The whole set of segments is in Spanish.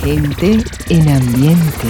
Gente en ambiente.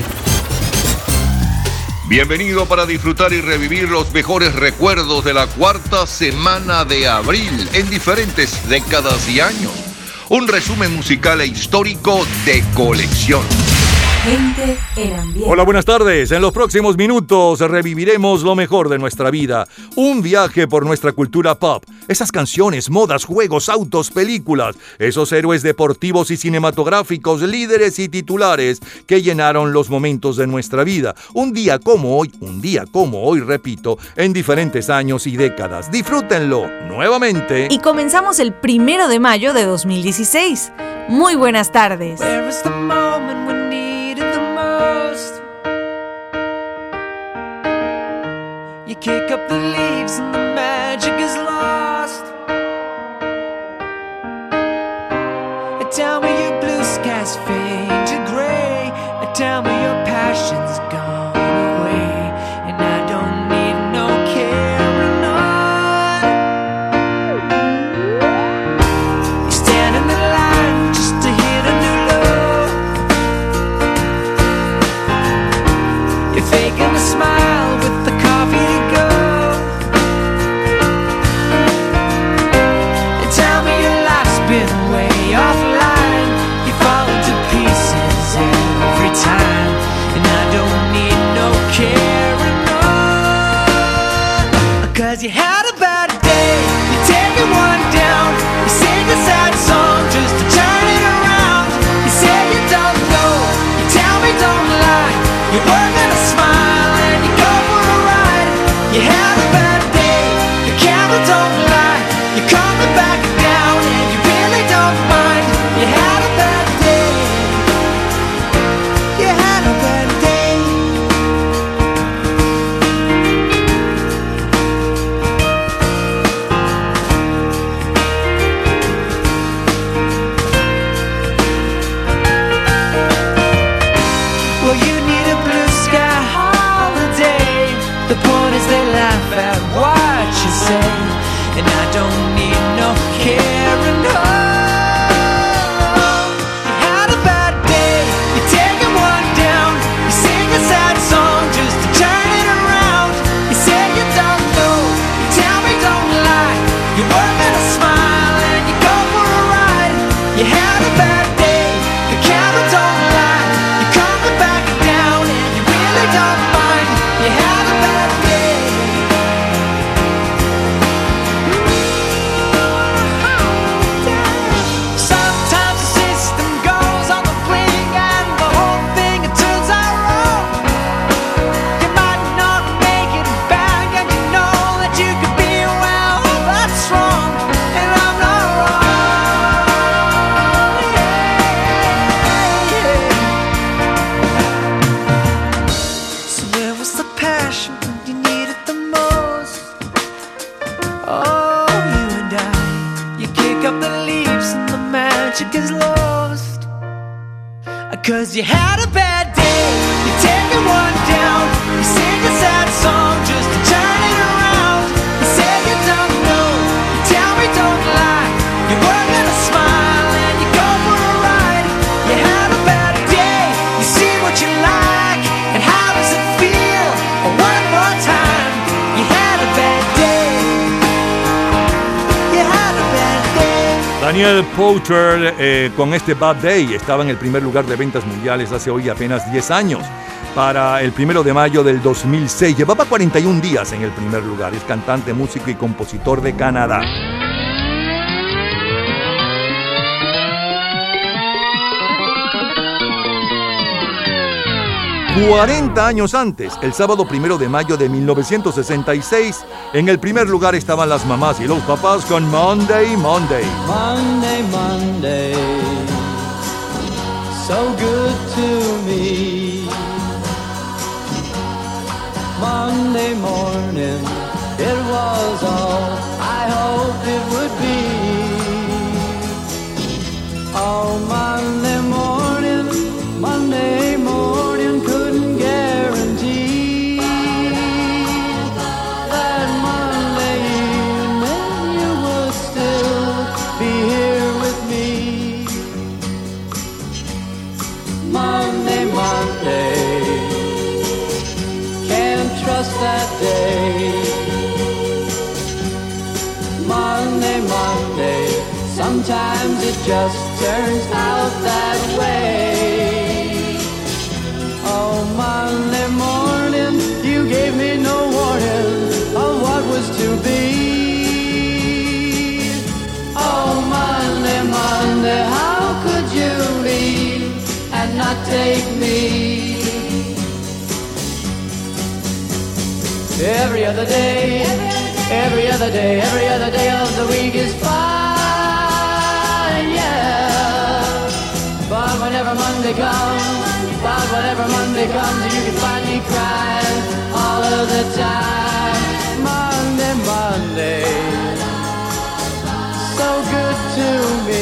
Bienvenido para disfrutar y revivir los mejores recuerdos de la cuarta semana de abril en diferentes décadas y años. Un resumen musical e histórico de colección. Gente en ambiente. Hola, buenas tardes. En los próximos minutos reviviremos lo mejor de nuestra vida. Un viaje por nuestra cultura pop. Esas canciones, modas, juegos, autos, películas. Esos héroes deportivos y cinematográficos, líderes y titulares que llenaron los momentos de nuestra vida. Un día como hoy, repito, en diferentes años y décadas. Disfrútenlo nuevamente. Y comenzamos el 1 de mayo de 2016. Muy buenas tardes. Kick up the leaves and the magic is lost. Tell me your blue skies fade to gray. Tell me your passion's gone away. And I don't need no carrying on. You stand in the line just to hit a new low. You're faking a smile with the coffee to go. Cause you had a bad day, you're taking one down. You sing a sad song just to turn it around. You say you don't know, you tell me don't lie. You're working a smile and you go for a ride. You had a bad day, your camera don't lie. You're coming back down and you really don't mind. You had a bad day, you had a bad day. And I don't need no carrying on. You had a bad day, you're taking one down. You sing a sad song just to turn it around. You say you don't know, you tell me don't lie. You're working a smile and you go for a ride. You had a bad day, the camera don't lie. You're coming back down and you really don't mind. You had a bad day. Is lost. Cause you had a bad day, you're taking one down. You sing a sad song just to turn it around. You say you don't know, you tell me don't lie. You're working a smile and you go for a ride. You had a bad day, you see what you like. And how does it feel? One more time. You had a bad day, you had a bad day. Daniel Powter con este Bad Day estaba en el primer lugar de ventas mundiales hace hoy apenas 10 años. Para el 1 de mayo del 2006 llevaba 41 días en el primer lugar. Es cantante, músico y compositor de Canadá. 40 años antes, el sábado 1 de mayo de 1966, en el primer lugar estaban las mamás y los papás con Monday, Monday. Monday, Monday, so good to me. Monday morning, it was all I hoped it would be. Oh, Monday morning, Monday morning, couldn't guarantee that Monday evening you would still be here with me. Monday, Monday, sometimes it just turns out that way. Oh, Monday morning, you gave me no warning of what was to be. Oh, Monday, Monday, how could you leave and not take me? Every other day, every other day, every other day of the week is fine, yeah. But whenever Monday comes, you can find me crying all of the time. Monday, Monday, so good to me.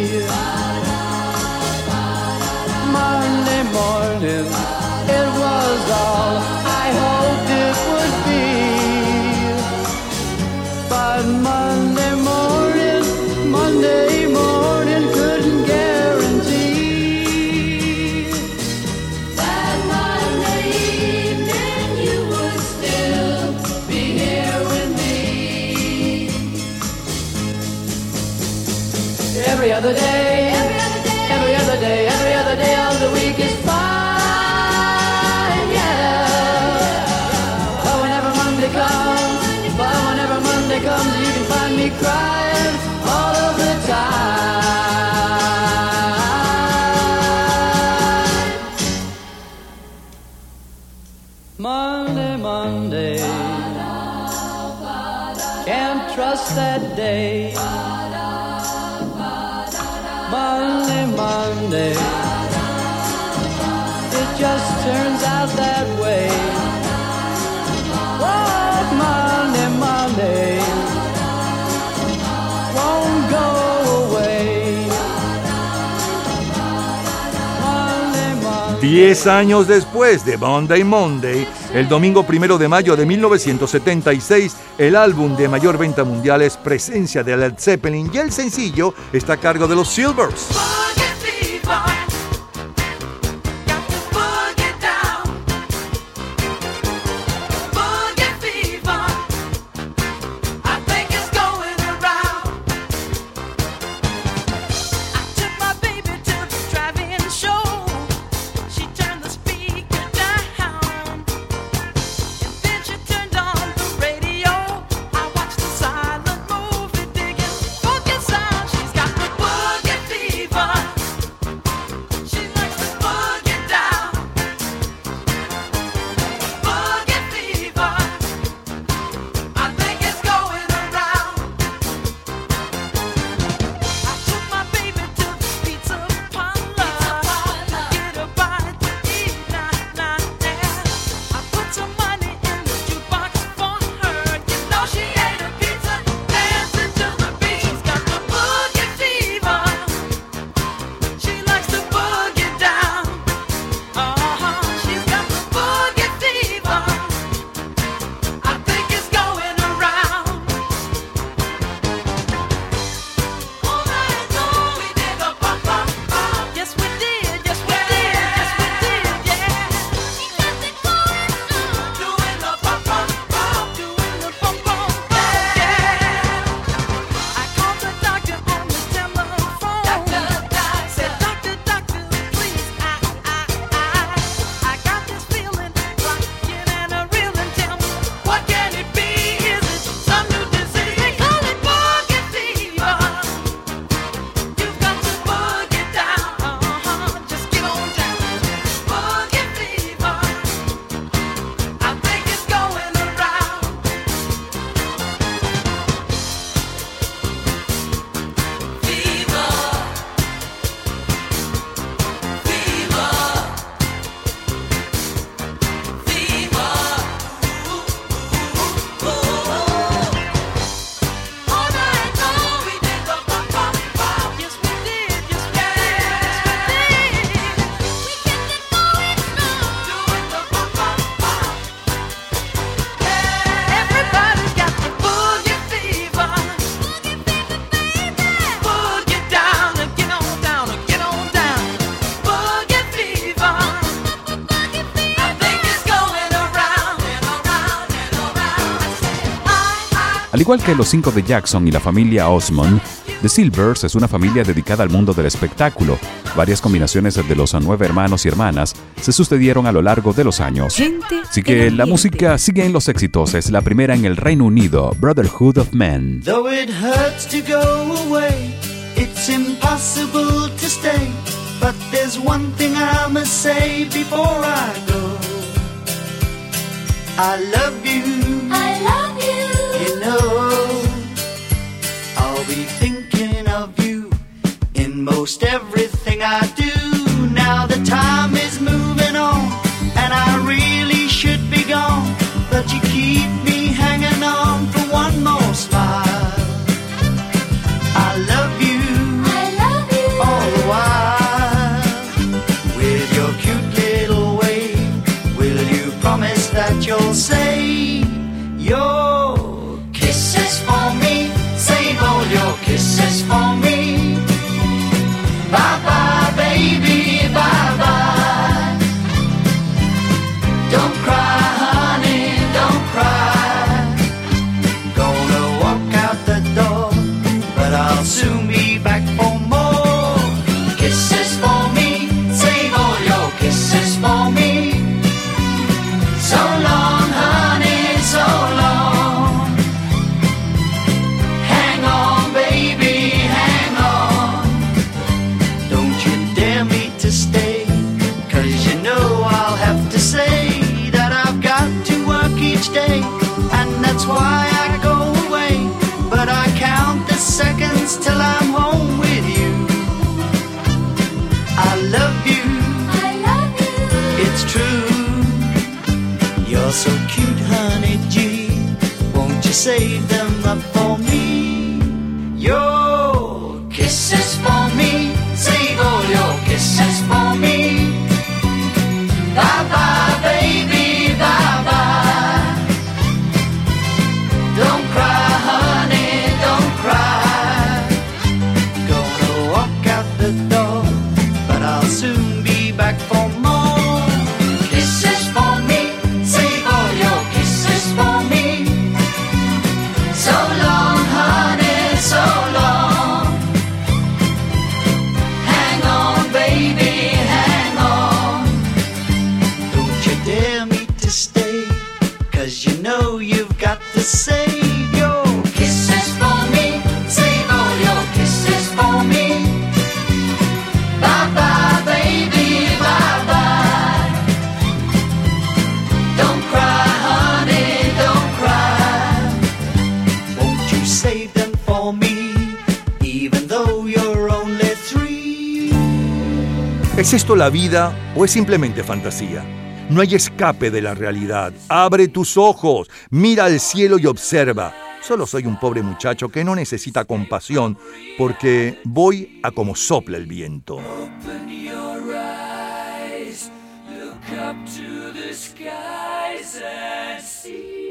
Monday morning, it was all I hoped it would be. But Monday morning couldn't guarantee that Monday evening you would still be here with me. Every other day, every other day, every other day of the week is fine, yeah. But whenever Monday comes, you can find me crying all of the time. Monday, Monday, can't trust that day. Monday, Monday, it just turns out that way. Oh, Monday, Monday, won't go away. Monday, Monday. 10 años después de Monday, Monday, el domingo 1 de mayo de 1976, el álbum de mayor venta mundial es presencia de Led Zeppelin y el sencillo está a cargo de los Silvers. Fever. igual que los 5 de Jackson y la familia Osmond, The Silvers es una familia dedicada al mundo del espectáculo. Varias combinaciones de los 9 hermanos y hermanas se sucedieron a lo largo de los años. Así que la música sigue en los éxitos. Es la primera en el Reino Unido, Brotherhood of Men. Though it hurts to go away, it's impossible to stay. But there's one thing I must say before I go. I love you. I love you. You know, I'll be thinking of you in most everything I do. Now the time is moving on, and I really should be gone. But you keep me hanging on for one more smile. I love you. I love you. All the while, with your cute little way, will you promise that you'll save your kisses for me? Save all your kisses for me. Bye bye, baby, bye bye. Don't cry, honey, don't cry. Gonna walk out the door, but I'll soon be back for more kisses for me. Save all your kisses for me. So long, honey, so long. Hang on, baby, hang on. Don't you dare me to stay, 'cause you know I'll have to say that I've got to work each day, and that's why I go away. But I count the seconds till I'm home with you. I love you. I love you. It's true. You're so cute, honey G. Won't you save them up for me? Your kisses for me. Save all your kisses for me. Bye bye, baby, bye bye. Don't cry, honey, don't cry. Gonna walk out the door, but I'll soon be back for more kisses for me. Save all your kisses for me. So long, honey, so long. Hang on, baby, hang on. Don't you dare me to stay, 'cause you know you've got to save your kisses for me. Save all your kisses for me. Bye bye, baby, bye bye. Don't cry, honey, don't cry. Won't you save them for me, even though you're only 3? ¿Es esto la vida o es simplemente fantasía? No hay escape de la realidad. Abre tus ojos, mira al cielo y observa. Solo soy un pobre muchacho que no necesita compasión porque voy a como sopla el viento. Open your eyes, look up to the skies and see.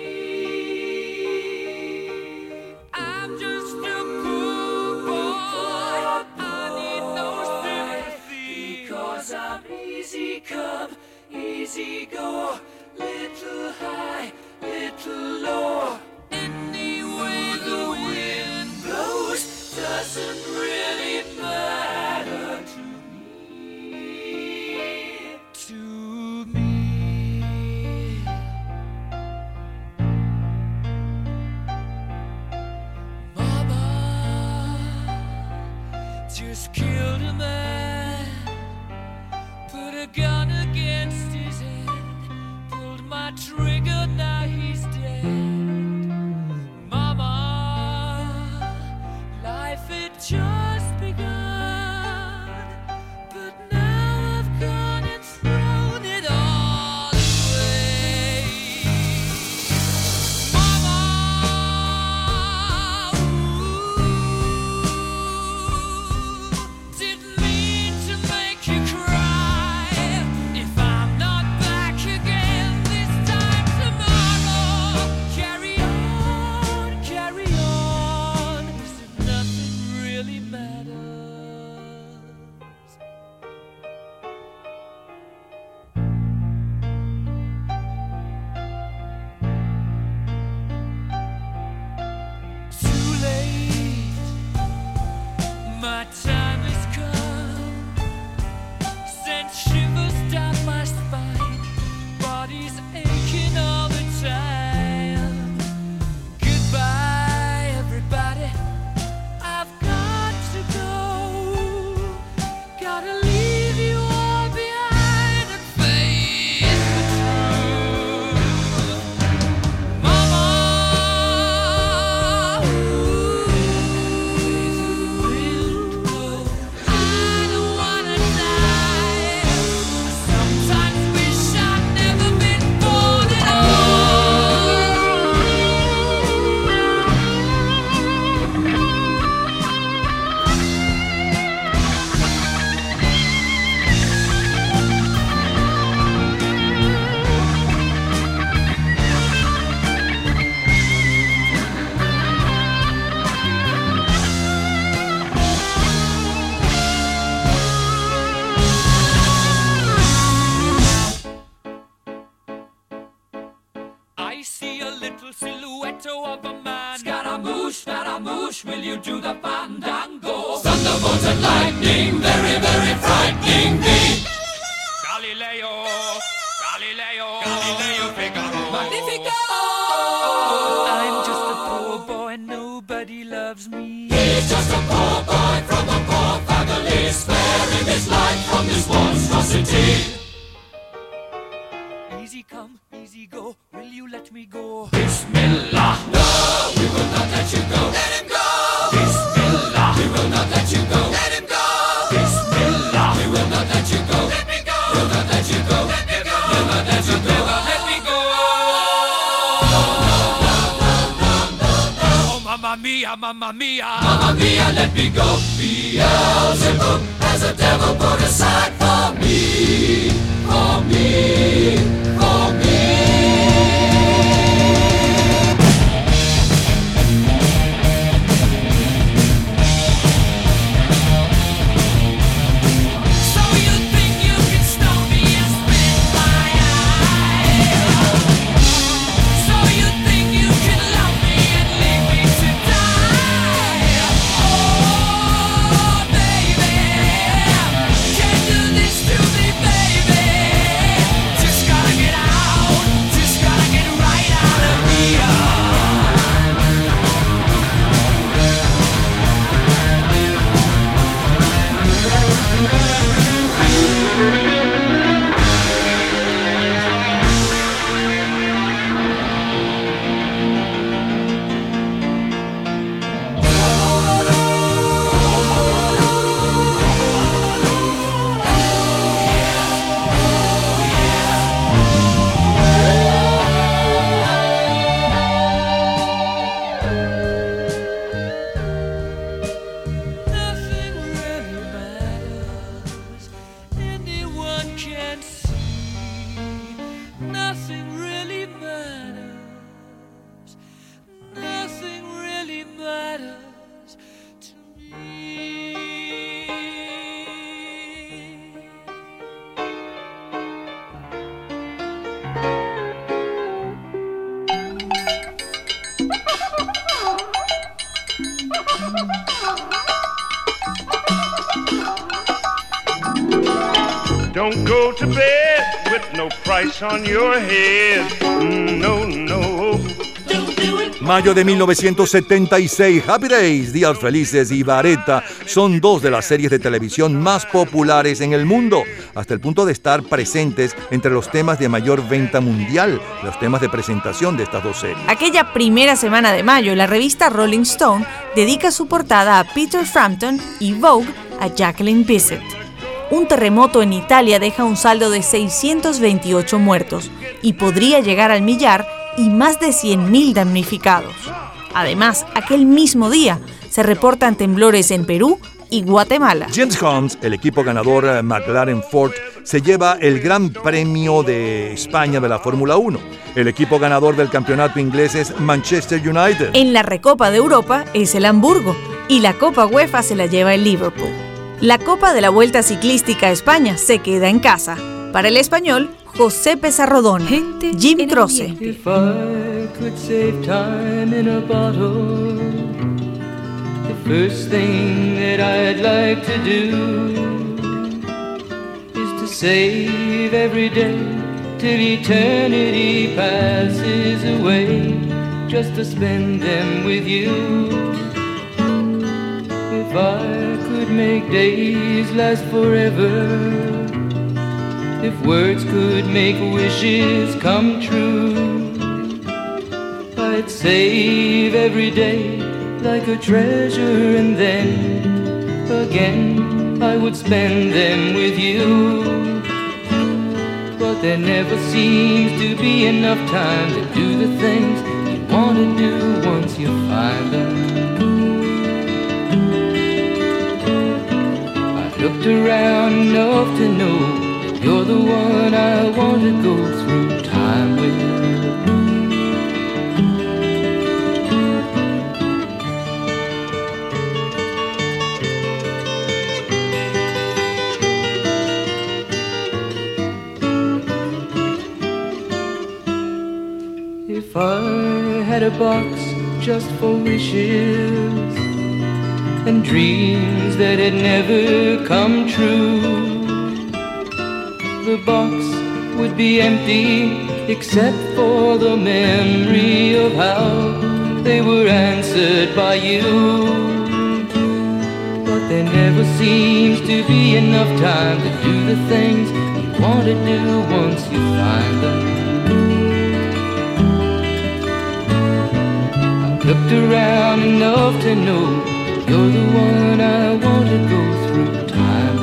I'm just a poor boy, I need no sympathy, 'cause I'm easy come, easy go, little high, little low. Any way the wind blows doesn't really matter to me, to me. Mama just killed a man, put a gun against his head, pulled my trigger, now he's dead. Mama, life had just begun, but now I've gone and thrown it all away. Mama, didn't mean to make you cry. If I'm not back again this time tomorrow, carry on, 'cause nothing really matters. my time has come. Sent shivers down my spine, body's aching all the time. Goodbye, everybody, I've got to go. Gotta leave you all behind and face the truth. Mama, I don't wanna die. Sometimes wish I'd never been born at all. I see a little silhouette of a man. Scaramouche, will you do the fandango? Thunderbolt and lightning, very, very frightening me. Galileo, Figaro. Magnifico! I'm just a poor boy, nobody loves me. He's just a poor boy from a poor family, sparing his life from this monstrosity. Easy come, easy go, will you let me go? Bismillah, no, we will not let you go. Let him go! Bismillah, we will not let you go. Let him go! Bismillah, we will not let you go. Let me go! We'll not let you go. Let me go! We'll not let you go. Let me go! Oh, mamma mia, mamma mia. Mamma mia, let me go. Beelzebub has a devil put aside for me. For me, for me. So you think you can stone me and spit my eye? So you think you can love me and leave me to die? Oh, baby, can't do this to me, baby. Just gotta get out, just gotta get right out of here. Nothing really matters. Anyone can see. Nothing really matters. Nothing really matters to me. Don't go to bed with no price on your head. No, no. Mayo de 1976, Happy Days, Días Felices y Vareta son dos de las series de televisión más populares en el mundo, hasta el punto de estar presentes entre los temas de mayor venta mundial, los temas de presentación de estas dos series. Aquella primera semana de mayo, la revista Rolling Stone dedica su portada a Peter Frampton y Vogue a Jacqueline Bisset. Un terremoto en Italia deja un saldo de 628 muertos y podría llegar al millar y más de 100.000 damnificados. Además, aquel mismo día se reportan temblores en Perú y Guatemala. James Hunt, el equipo ganador McLaren Ford, se lleva el Gran Premio de España de la Fórmula 1. El equipo ganador del campeonato inglés es Manchester United. En la Recopa de Europa es el Hamburgo y la Copa UEFA se la lleva el Liverpool. La Copa de la Vuelta Ciclística a España se queda en casa. Para el español, José Pezarrodona, Jim Croce. If I could save time in a bottle, if first thing that I'd like to do is to save every day till eternity passes away, just to spend them with you. If I could make days last forever, if words could make wishes come true, I'd save every day like a treasure, and then again I would spend them with you. But there never seems to be enough time to do the things you want to do once you find them. I've looked around enough to know that you're the one I want to go through time with. If I had a box just for wishes and dreams that had never come true, the box would be empty except for the memory of how they were answered by you. But there never seems to be enough time to do the things you want to do once you find them. Looked around enough to know you're the one I want to go through time.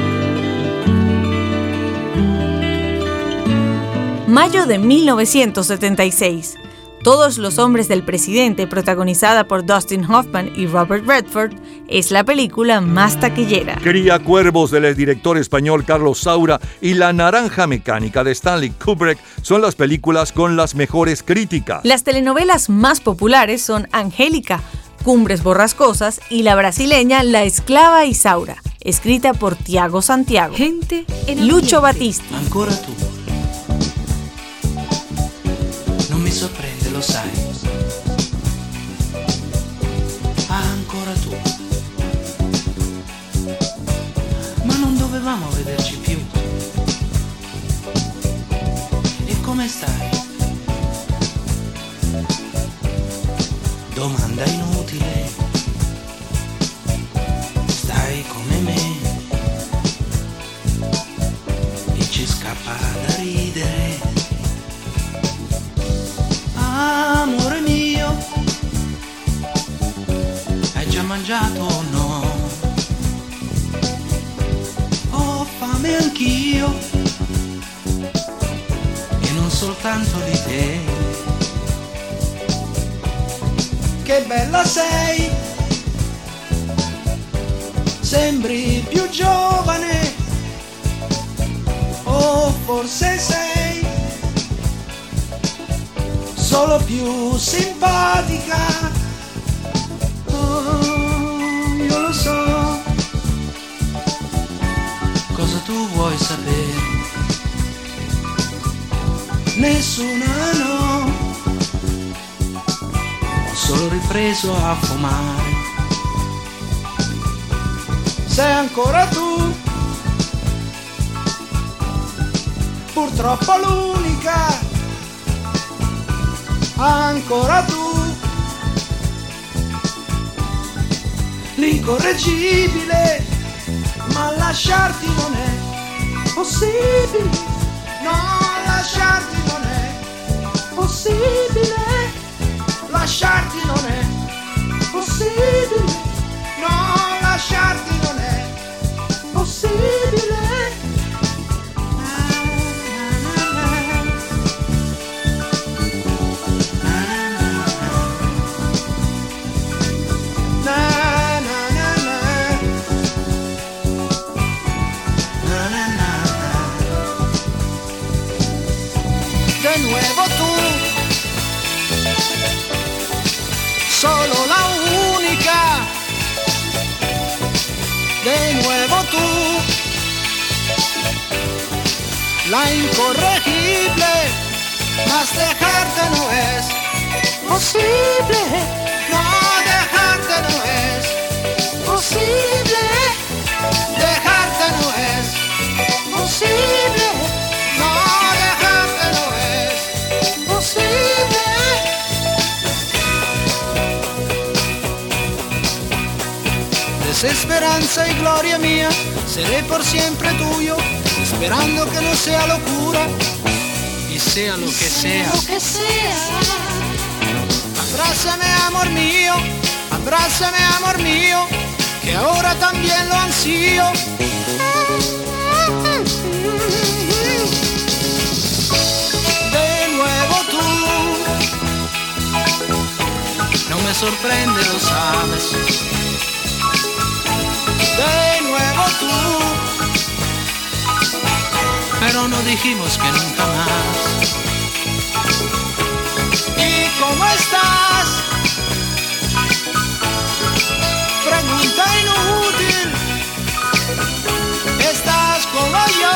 Mayo de 1976. Todos los hombres del presidente, protagonizada por Dustin Hoffman y Robert Redford, es la película más taquillera. Cría cuervos del director español Carlos Saura y La naranja mecánica de Stanley Kubrick son las películas con las mejores críticas. Las telenovelas más populares son Angélica, Cumbres borrascosas y la brasileña La esclava Isaura, escrita por Tiago Santiago. Gente en Lucho ambiente. Battisti. Ancora tu. Non mi sorprende, lo sai. Ancora tu. Ma non dovevamo vederci più. E come stai? Domanda inutile. Stai come me. E ci scappa da ridere. Amore mio, hai già mangiato o no? Ho fame anch'io, e non soltanto di te. Che bella sei, sembri più giovane, o forse sei solo più simpatica. Oh, io lo so. Cosa tu vuoi sapere? Nessuna no. Ho solo ripreso a fumare. Sei ancora tu, purtroppo l'unica. Ancora tu, l'incorreggibile, ma lasciarti non è possibile. No, lasciarti non è possibile. Lasciarti non è possibile. No, lasciarti non è possibile. De nuevo tú, solo la única. De nuevo tú, la incorregible, mas dejarte no es posible. No, dejarte no es desesperanza y gloria mía, seré por siempre tuyo, esperando que no sea locura y sea lo que sea. Abrázame, amor mío, que ahora también lo ansío. De nuevo tú, no me sorprende, lo sabes. De nuevo tú, pero no dijimos que nunca más. ¿Y cómo estás? Pregunta inútil. ¿Estás como yo?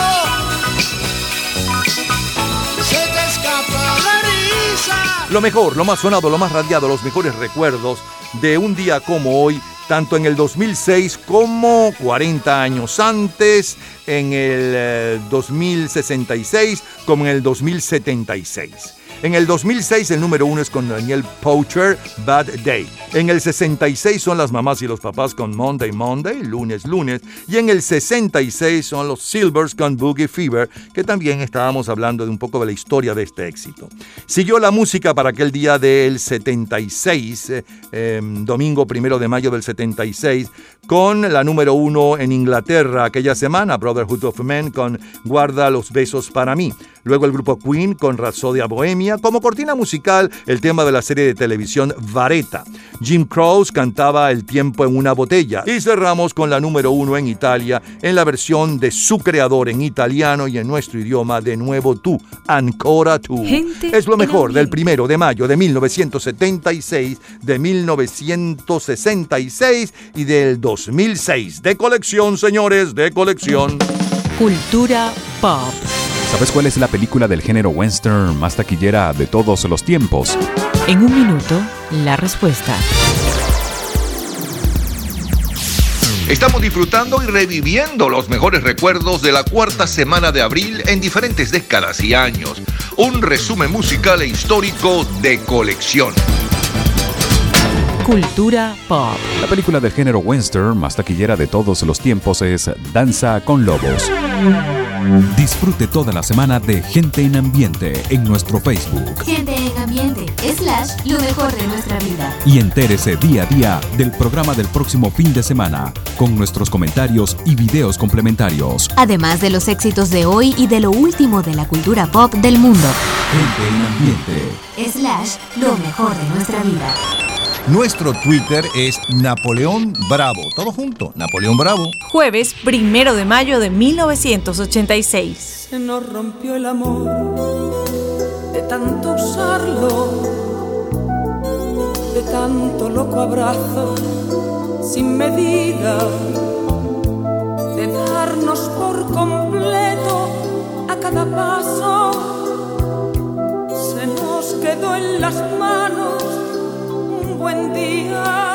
Se te escapa la risa. Lo mejor, lo más sonado, lo más radiado, los mejores recuerdos de un día como hoy, tanto en el 2006 como 40 años antes, en el 2066 como en el 2076. En el 2006 el número 1 es con Daniel Poacher, Bad Day. En el 66 son las mamás y los papás con Monday, Monday, lunes, lunes. Y en el 66 son los Silvers con Boogie Fever, que también estábamos hablando de un poco de la historia de este éxito. Siguió la música para aquel día del 76, domingo 1 de mayo del 76, con la número 1 en Inglaterra aquella semana, Brotherhood of Men con Guarda los besos para mí. Luego el grupo Queen con Rhapsodia Bohemia. Como cortina musical, el tema de la serie de televisión Vareta. Jim Croce cantaba El tiempo en una botella. Y cerramos con la número 1 en Italia, en la versión de su creador en italiano y en nuestro idioma, De nuevo tú, Ancora tú. Es lo mejor del 1 de mayo de 1976, de 1966 y del 2006. De colección, señores, de colección. Cultura pop. ¿Sabes cuál es la película del género western más taquillera de todos los tiempos? En un minuto, la respuesta. Estamos disfrutando y reviviendo los mejores recuerdos de la cuarta semana de abril en diferentes décadas y años. Un resumen musical e histórico de colección. Cultura pop. La película del género western más taquillera de todos los tiempos es Danza con Lobos. Disfrute toda la semana de Gente en Ambiente en nuestro Facebook. Gente en Ambiente / lo mejor de nuestra vida. Y entérese día a día del programa del próximo fin de semana, con nuestros comentarios y videos complementarios. Además de los éxitos de hoy y de lo último de la cultura pop del mundo. Gente en Ambiente / lo mejor de nuestra vida. Nuestro Twitter es Napoleón Bravo. Todo junto, Napoleón Bravo. Jueves 1 de mayo de 1986. Se nos rompió el amor de tanto usarlo, de tanto loco abrazo sin medida, de darnos por completo a cada paso. Se nos quedó en las manos un buen día.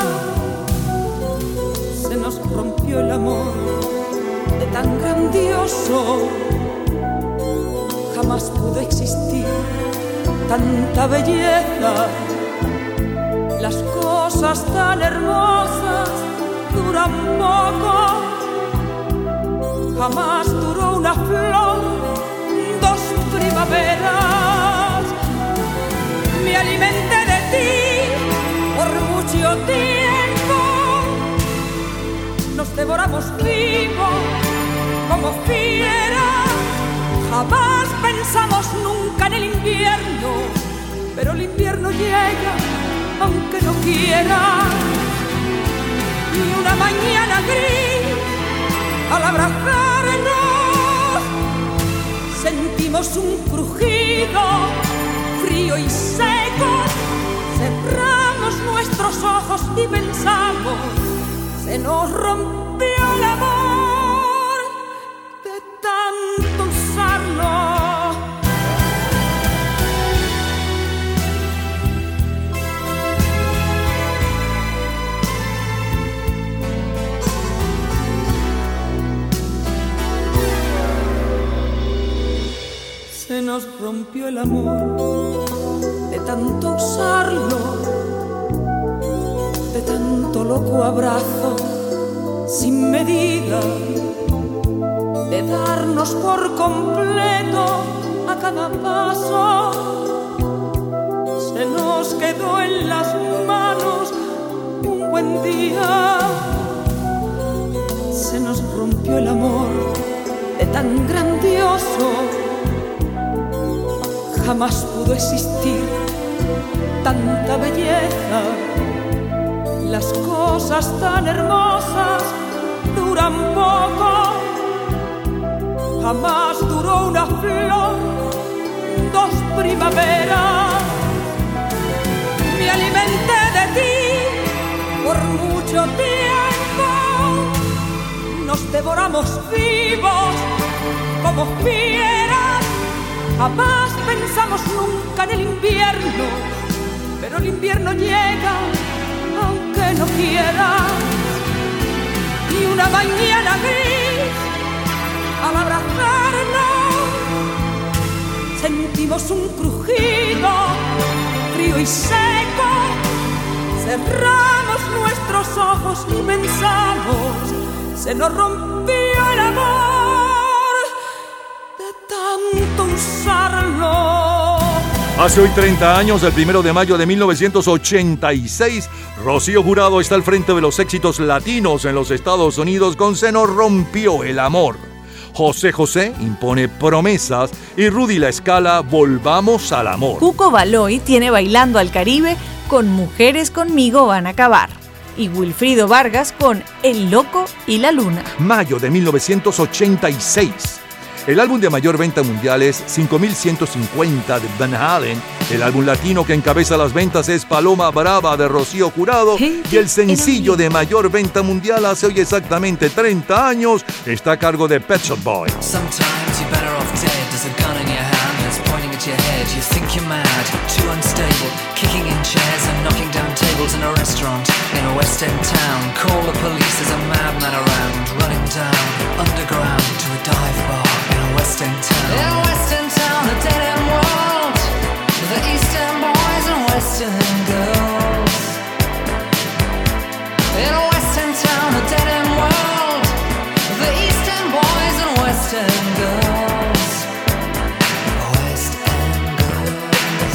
Se nos rompió el amor de tan grandioso. Jamás pudo existir tanta belleza. Las cosas tan hermosas duran poco. Jamás duró una flor 2 primaveras. Me alimenté de ti por mucho tiempo. Nos devoramos vivos como fieras. Jamás pensamos nunca en el invierno, pero el invierno llega aunque no quiera. Y una mañana gris, al abrazarnos, sentimos un crujido frío y seco. Cerramos nuestros ojos y pensamos, se nos rompió el amor de tanto usarlo. Se nos rompió el amor de tanto usarlo, de tanto loco abrazo sin medida, de darnos por completo a cada paso. Se nos quedó en las manos un buen día, se nos rompió el amor de tan grandioso. Jamás pudo existir tanta belleza. Las cosas tan hermosas duran poco. Jamás duró una flor, dos primaveras. Me alimenté de ti por mucho tiempo. Nos devoramos vivos como fieras. Jamás pensamos nunca en el invierno, pero el invierno llega aunque no quieras. Y una mañana gris, al abrazarnos, sentimos un crujido frío y seco. Cerramos nuestros ojos y pensamos, se nos rompió el amor de tanto usarlo. Hace hoy 30 años, el 1 de mayo de 1986, Rocío Jurado está al frente de los éxitos latinos en los Estados Unidos con Se nos rompió el amor. José José impone Promesas y Rudy La Escala Volvamos al amor. Cuco Baloy tiene Bailando al Caribe con Mujeres conmigo van a acabar. Y Wilfrido Vargas con El loco y la luna. Mayo de 1986. El álbum de mayor venta mundial es 5150 de Van Halen. El álbum latino que encabeza las ventas es Paloma Brava de Rocío Jurado. Y el sencillo de mayor venta mundial hace hoy exactamente 30 años está a cargo de Pet Shop Boys. Sometimes you're better off dead. There's a gun in your hand that's pointing at your head. You think you're mad, too unstable, kicking in chairs and knocking down tables in a restaurant in a West End town. Call the police, there's a madman around, running down underground to a dive bar in a West End town. In a West End town, a dead end world, the East End boys and West End girls. In a West End town, a dead end world, the East End boys and West End girls. West End girls.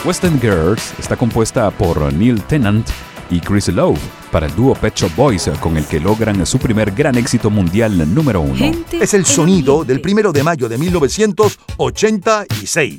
Western Girls está compuesta por Neil Tennant y Chris Lowe para el dúo Pet Shop Boys, con el que logran su primer gran éxito mundial número 1. Es el sonido del 1 de mayo de 1986.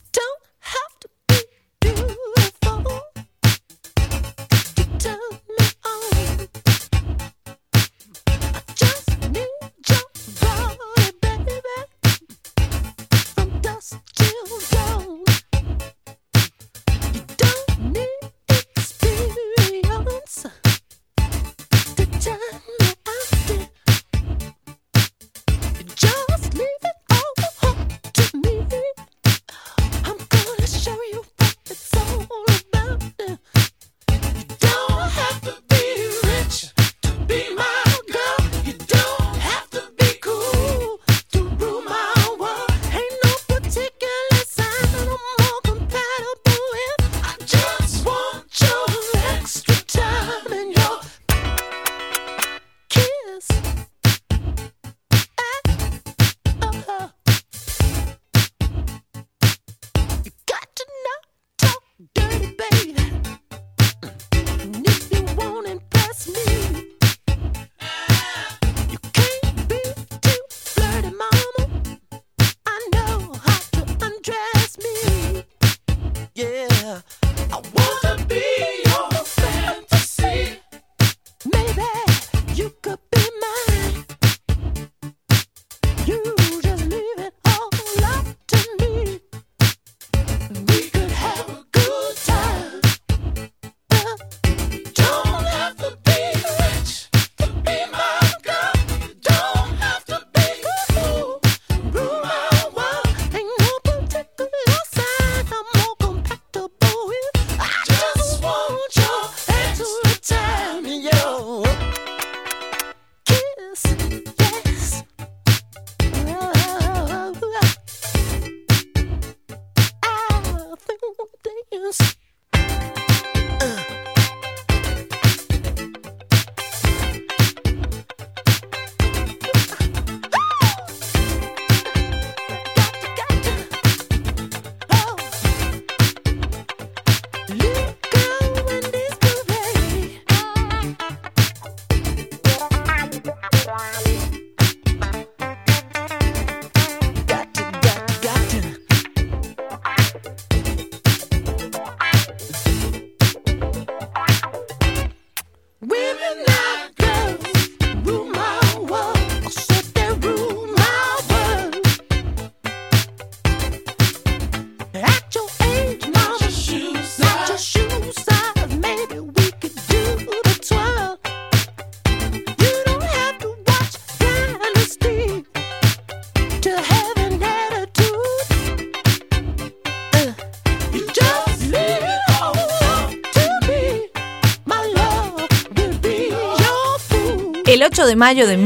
El 8 de mayo de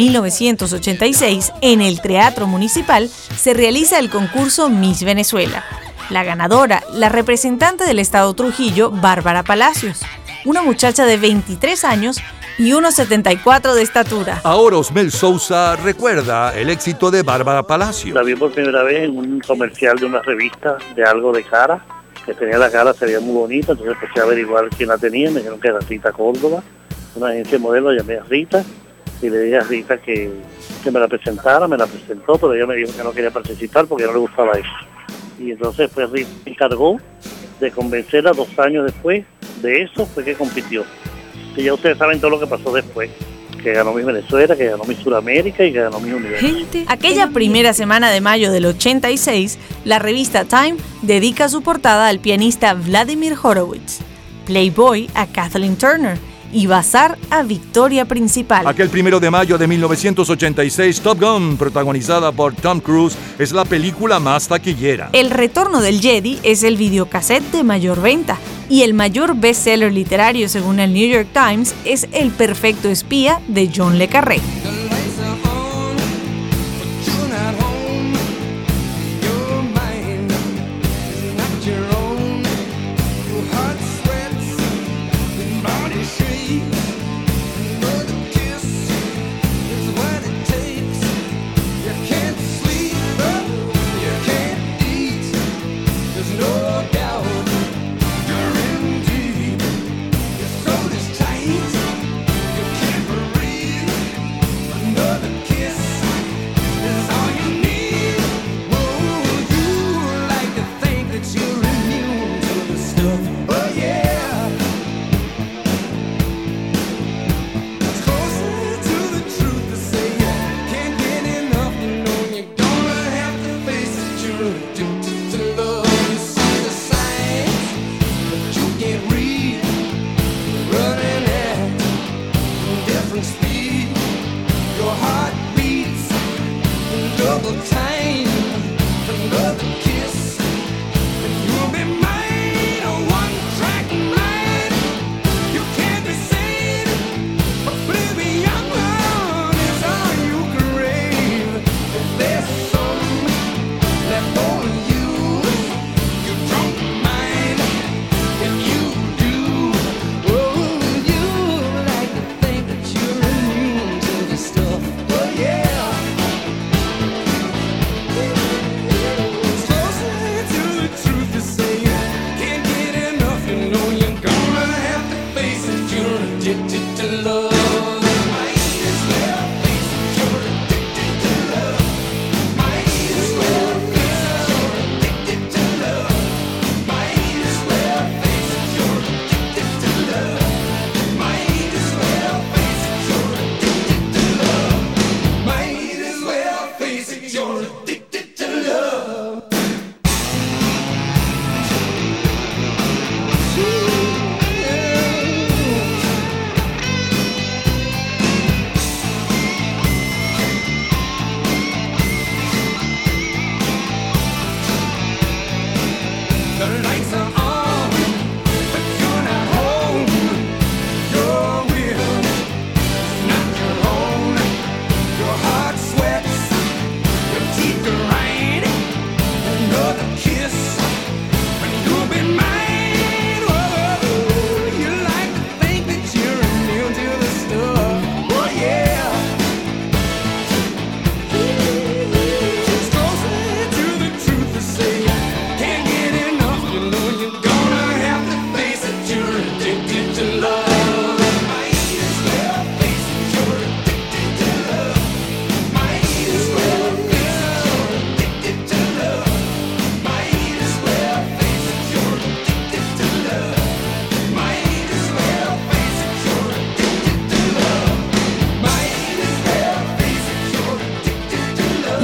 1986, en el Teatro Municipal, se realiza el concurso Miss Venezuela. La ganadora, la representante del estado Trujillo, Bárbara Palacios, una muchacha de 23 años y 1,74 de estatura. Ahora Osmel Sousa recuerda el éxito de Bárbara Palacios. La vi por primera vez en un comercial de una revista de algo de cara, que tenía la cara, se veía muy bonita, entonces empecé a averiguar quién la tenía, me dijeron que era Rita Córdoba, una agencia de modelos, llamé a Rita, y le dije a Rita que me la presentara, me la presentó, pero ella me dijo que no quería participar porque no le gustaba eso. Y entonces pues Rita me encargó de convencerla 2 años después de eso, fue que compitió. Y ya ustedes saben todo lo que pasó después, que ganó Miss Venezuela, que ganó Miss Sudamérica y que ganó Miss Universo. Aquella primera semana de mayo del 86, la revista Time dedica su portada al pianista Vladimir Horowitz, Playboy a Kathleen Turner y Bazar a Victoria Principal. Aquel 1 de mayo de 1986, Top Gun, protagonizada por Tom Cruise, es la película más taquillera. El retorno del Jedi es el videocassette de mayor venta y el mayor bestseller literario según el New York Times es El perfecto espía de John le Carré.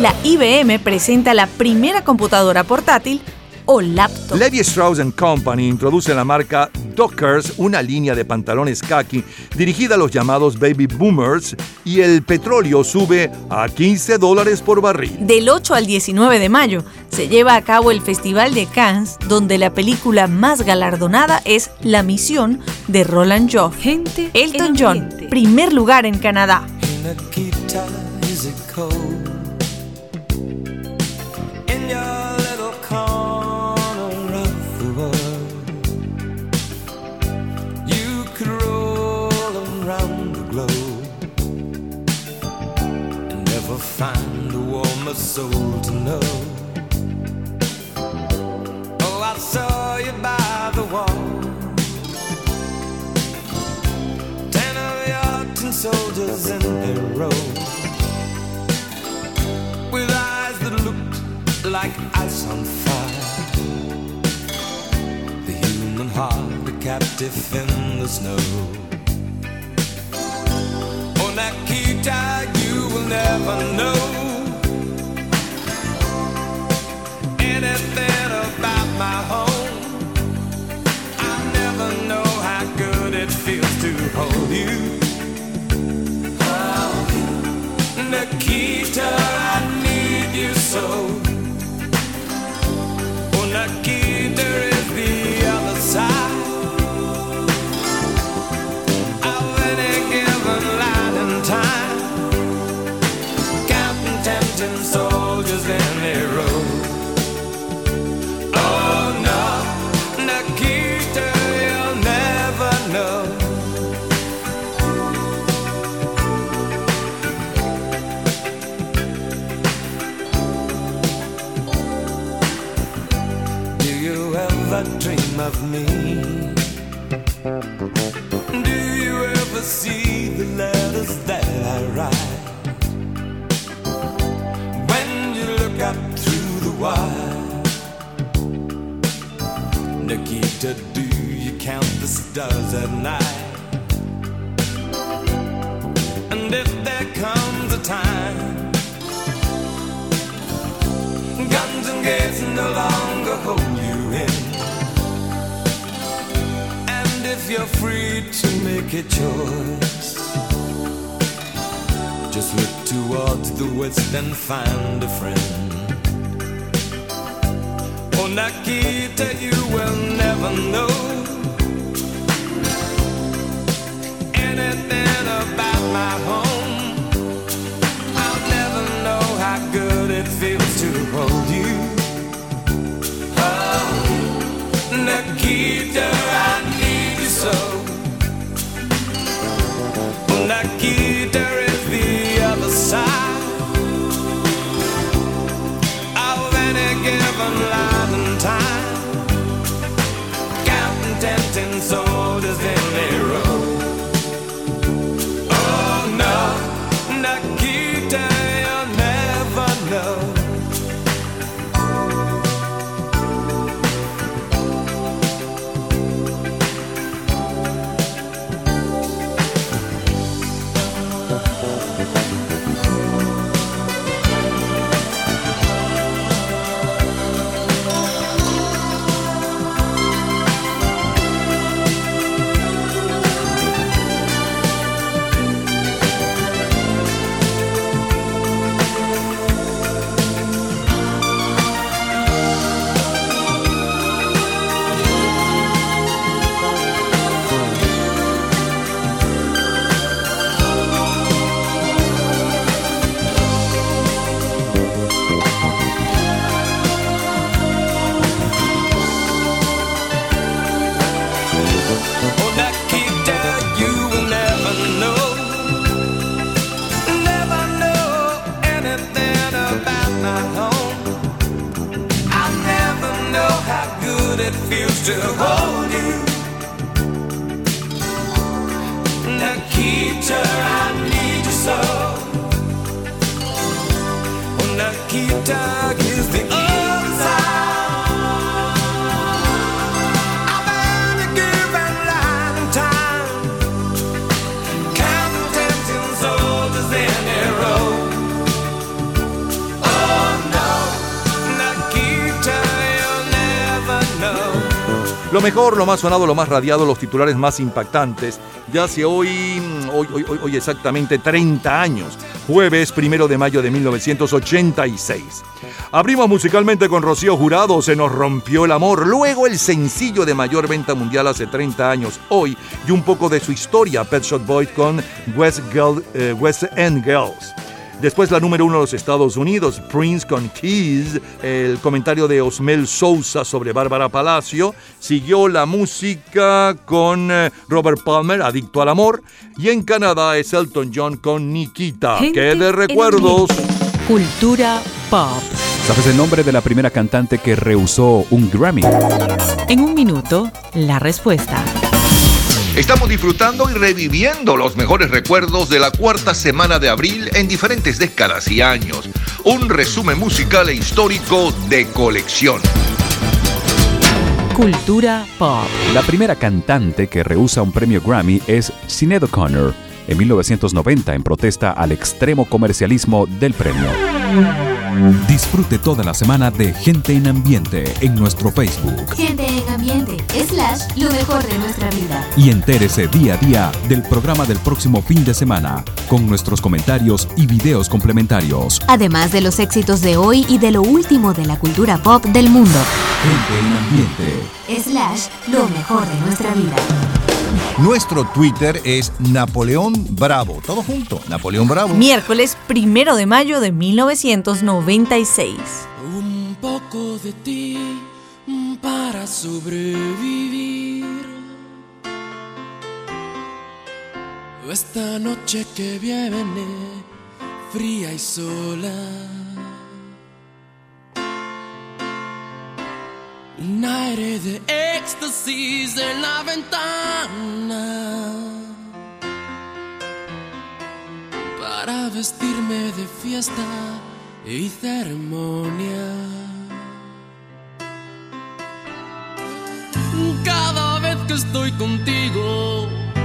La IBM presenta la primera computadora portátil o laptop. Levi Strauss & Company introduce la marca Dockers, una línea de pantalones khaki dirigida a los llamados baby boomers, y el petróleo sube a $15 por barril. Del 8 al 19 de mayo se lleva a cabo el Festival de Cannes, donde la película más galardonada es La Misión de Roland Joff. Elton John, primer lugar en Canadá. Find a warmer soul to know. Oh, I saw you by the wall. 10 of your tin soldiers in a row, with eyes that looked like ice on fire. The human heart, a captive in the snow. Oh, Nikita, you will never know anything about my home. I'll never know how good it feels to hold you. Oh, Nikita, I need you so. Oh, Nikita is the other side of any given line in time. Tempting soldiers in a row. Oh no, Nikita, you'll never know. Do you ever dream of me? Do you ever see the letters that I write? Up through the wire, Nikita, do you count the stars at night? And if there comes a time guns and gates no longer hold you in, and if you're free to make a choice, just look towards the west and find a friend. Oh, Nikita, you will never know anything about my home. I'll never know how good it feels to hold you. Oh, Nikita, I need you so. Oh, Nikita is the other side of any given line in time. Counting tempting soldiers in a row. Oh no, Nikita, you'll never know. To hold you, Nikita, I need you so. Oh, Nikita is the other side of any given line in time. Counting tempting soldiers in a row. lo mejor, lo más sonado, lo más radiado, los titulares más impactantes. Ya hace hoy exactamente 30 años, jueves 1 de mayo de 1986. Abrimos musicalmente con Rocío Jurado, Se nos rompió el amor. Luego el sencillo de mayor venta mundial hace 30 años, hoy, y un poco de su historia, Pet Shop Boys con West End Girls. Después la número 1 de los Estados Unidos, Prince con Keys, el comentario de Osmel Sousa sobre Bárbara Palacio. Siguió la música con Robert Palmer, Adicto al Amor. Y en Canadá es Elton John con Nikita. ¡Qué de recuerdos! Cultura pop. ¿Sabes el nombre de la primera cantante que rehusó un Grammy? En un minuto, la respuesta. Estamos disfrutando y reviviendo los mejores recuerdos de la cuarta semana de abril en diferentes décadas y años. Un resumen musical e histórico de colección. Cultura pop. La primera cantante que rehúsa un premio Grammy es Sinéad O'Connor, en 1990, en protesta al extremo comercialismo del premio. Disfrute toda la semana de Gente en Ambiente en nuestro Facebook. Gente en Ambiente / lo mejor de nuestra vida. Y entérese día a día del programa del próximo fin de semana, con nuestros comentarios y videos complementarios. Además de los éxitos de hoy y de lo último de la cultura pop del mundo. Gente en Ambiente / lo mejor de nuestra vida. Nuestro Twitter es Napoleón Bravo. Todo junto, Napoleón Bravo. Miércoles 1 de mayo de 1996. Un poco de ti para sobrevivir. Esta noche que viene, fría y sola. Un aire de éxtasis en la ventana para vestirme de fiesta y ceremonia. Cada vez que estoy contigo,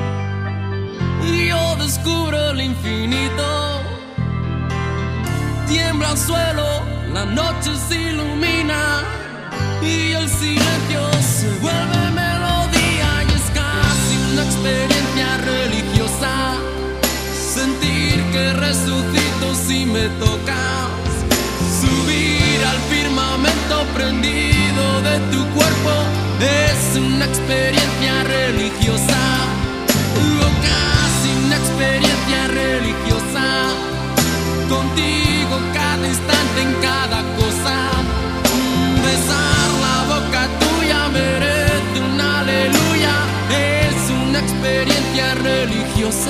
yo descubro el infinito. Tiembla el suelo, la noche se ilumina y el silencio se vuelve melodía y es casi una experiencia religiosa. Sentir que resucito si me tocas, subir al firmamento prendido de tu cuerpo es una experiencia religiosa, o casi una experiencia religiosa. Contigo cada instante en cada cosa. Besar la boca tuya merece un aleluya, es una experiencia religiosa.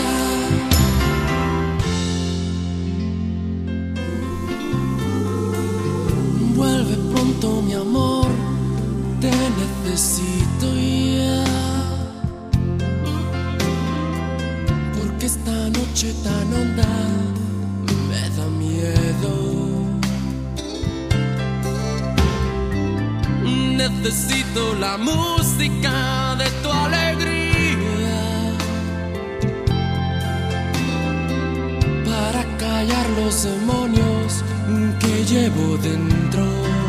Vuelve pronto mi amor, te necesito ya, porque esta noche tan honda me da miedo. Necesito la música de tu alegría para callar los demonios que llevo dentro.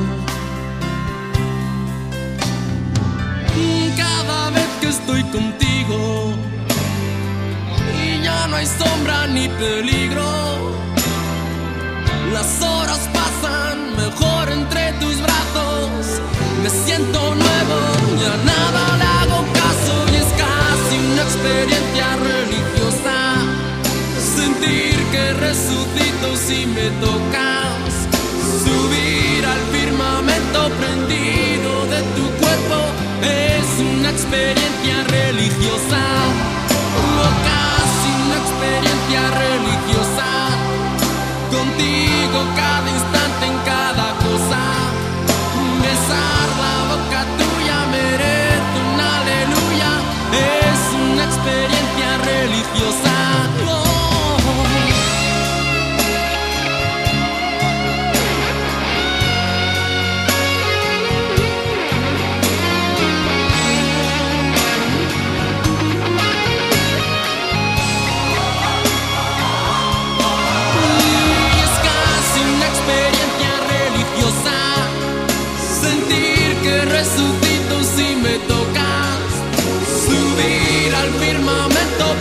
Cada vez que estoy contigo y ya no hay sombra ni peligro, las horas pasan mejor entre tus brazos. Me siento nuevo, ya nada le hago caso y es casi una experiencia religiosa. Sentir que resucito si me tocas, subir al firmamento prendido de tu cuerpo es una experiencia religiosa, o casi una experiencia religiosa. Contigo cada instante en cada cosa. Besar la boca tuya merece un aleluya, es una experiencia religiosa.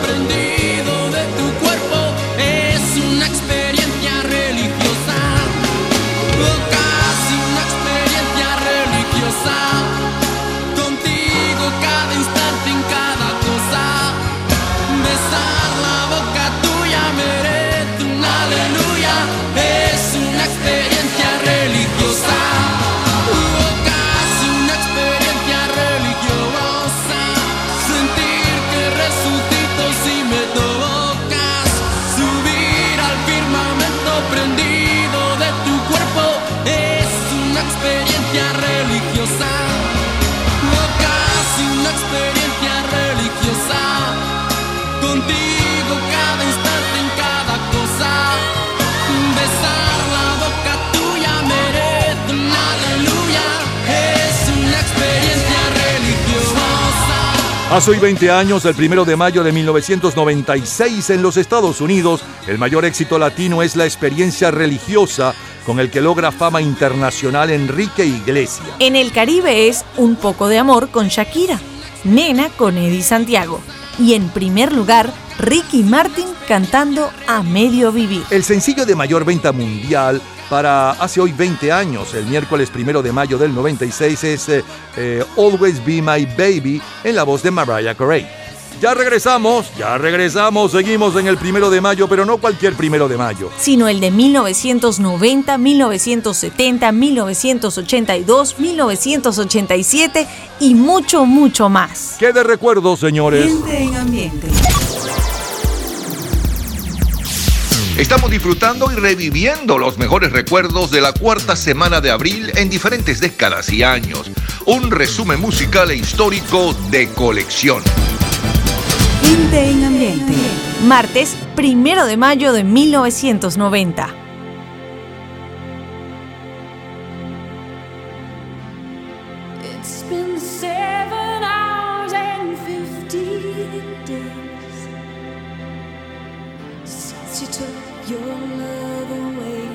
prendido de tu cuerpo. Es una experiencia religiosa, o casi una experiencia religiosa. Contigo cada instante, en cada cosa. Besar la boca tuya merece un aleluya. Es una experiencia religiosa, o casi una experiencia religiosa. Sentir que resucito si me tocas. Subir al firmamento prendido de tu cuerpo. Es una experiencia religiosa, o casi una experiencia religiosa. Contigo cada instante, en cada cosa. Besar la boca tuya merece un aleluya. Es una experiencia religiosa. Hace hoy 20 años, el 1 de mayo de 1996, en los Estados Unidos, el mayor éxito latino es La experiencia religiosa, con el que logra fama internacional Enrique Iglesias. En el Caribe es Un poco de amor con Shakira, Nena con Eddie Santiago. Y en primer lugar, Ricky Martin cantando A Medio Vivir. El sencillo de mayor venta mundial para hace hoy 20 años, el miércoles 1 de mayo del 96, es Always Be My Baby, en la voz de Mariah Carey. Ya regresamos, seguimos en el 1 de mayo, pero no cualquier 1 de mayo. Sino el de 1990, 1970, 1982, 1987 y mucho, mucho más. ¿Qué de recuerdos, señores? Gente en ambiente. Estamos disfrutando y reviviendo los mejores recuerdos de la cuarta semana de abril en diferentes décadas y años. Un resumen musical e histórico de colección. Gente en ambiente. Martes 1 de mayo de 1990. It's been 7 hours and 15 days since you took your love away.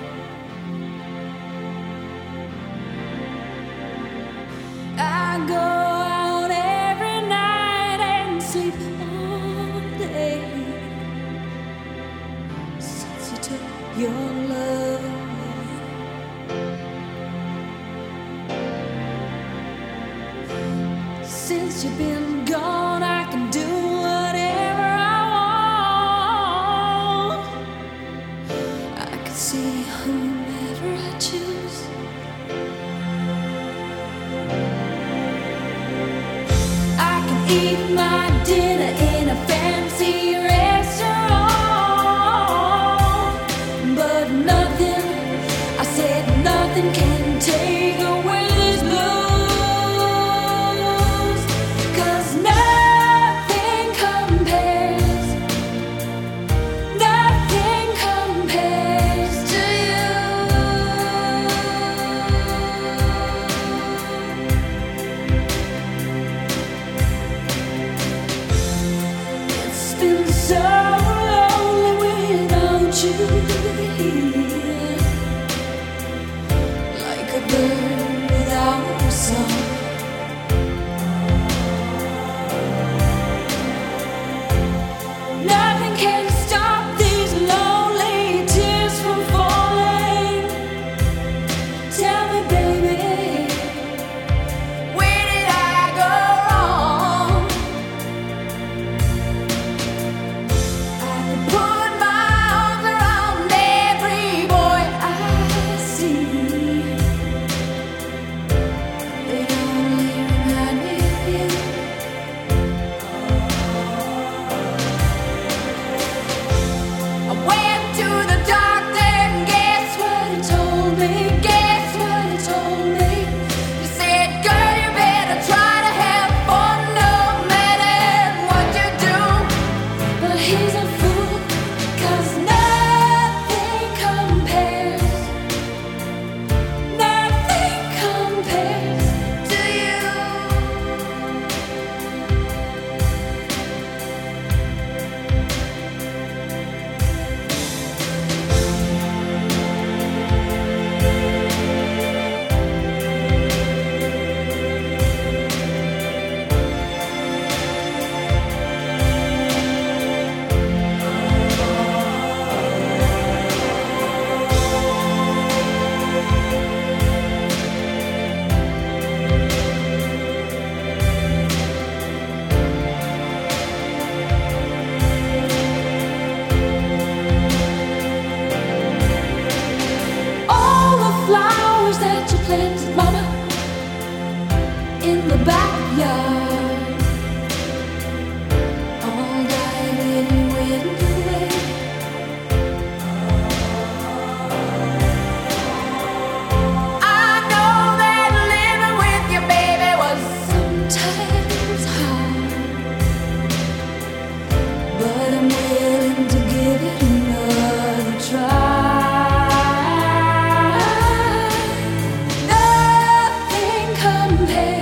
I go out every night and sleep all day since you took your love away. Since you've been gone, I can do whatever I want. I can see whomever I choose. I can eat my dinner in a fancy restaurant, but nothing, I said nothing can take away this blues. 'Cause nothing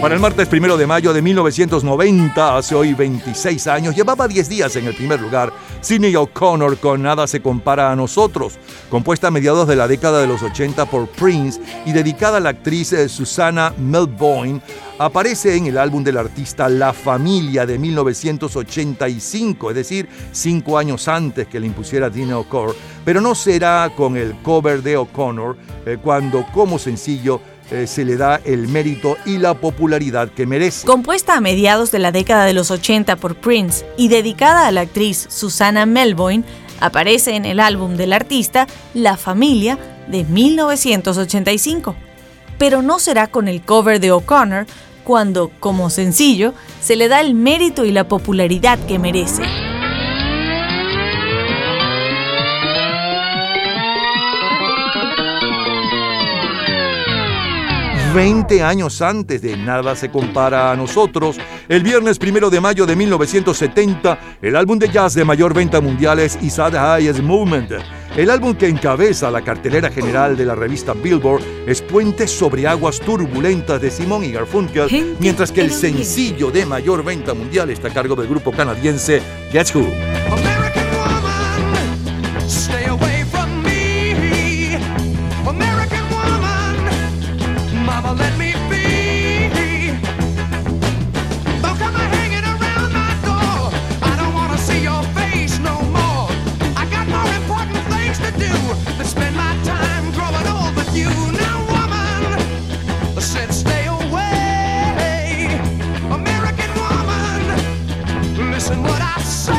Para el martes 1 de mayo de 1990, hace hoy 26 años, llevaba 10 días en el primer lugar Sinéad O'Connor con Nada se compara a nosotros, compuesta a mediados de la década de los 80 por Prince y dedicada a la actriz Susanna Melvoin. Aparece en el álbum del artista La Familia de 1985, es decir, 5 años antes que le impusiera Tina O'Connor, pero no será con el cover de O'Connor cuando como sencillo se le da el mérito y la popularidad que merece. Compuesta a mediados de la década de los 80 por Prince y dedicada a la actriz Susanna Melvoin, aparece en el álbum del artista La Familia de 1985. Pero no será con el cover de O'Connor cuando, como sencillo, se le da el mérito y la popularidad que merece. 20 años antes de Nada se compara a nosotros, el viernes 1 de mayo de 1970, el álbum de jazz de mayor venta mundial es Is That the Highest Movement. El álbum que encabeza la cartelera general de la revista Billboard es Puentes sobre aguas turbulentas de Simon y Garfunkel, mientras que el sencillo de mayor venta mundial está a cargo del grupo canadiense Guess Who. Let me be. Don't come hanging around my door. I don't want to see your face no more. I got more important things to do than spend my time growing old with you. Now, woman, said stay away. American woman, listen what I say.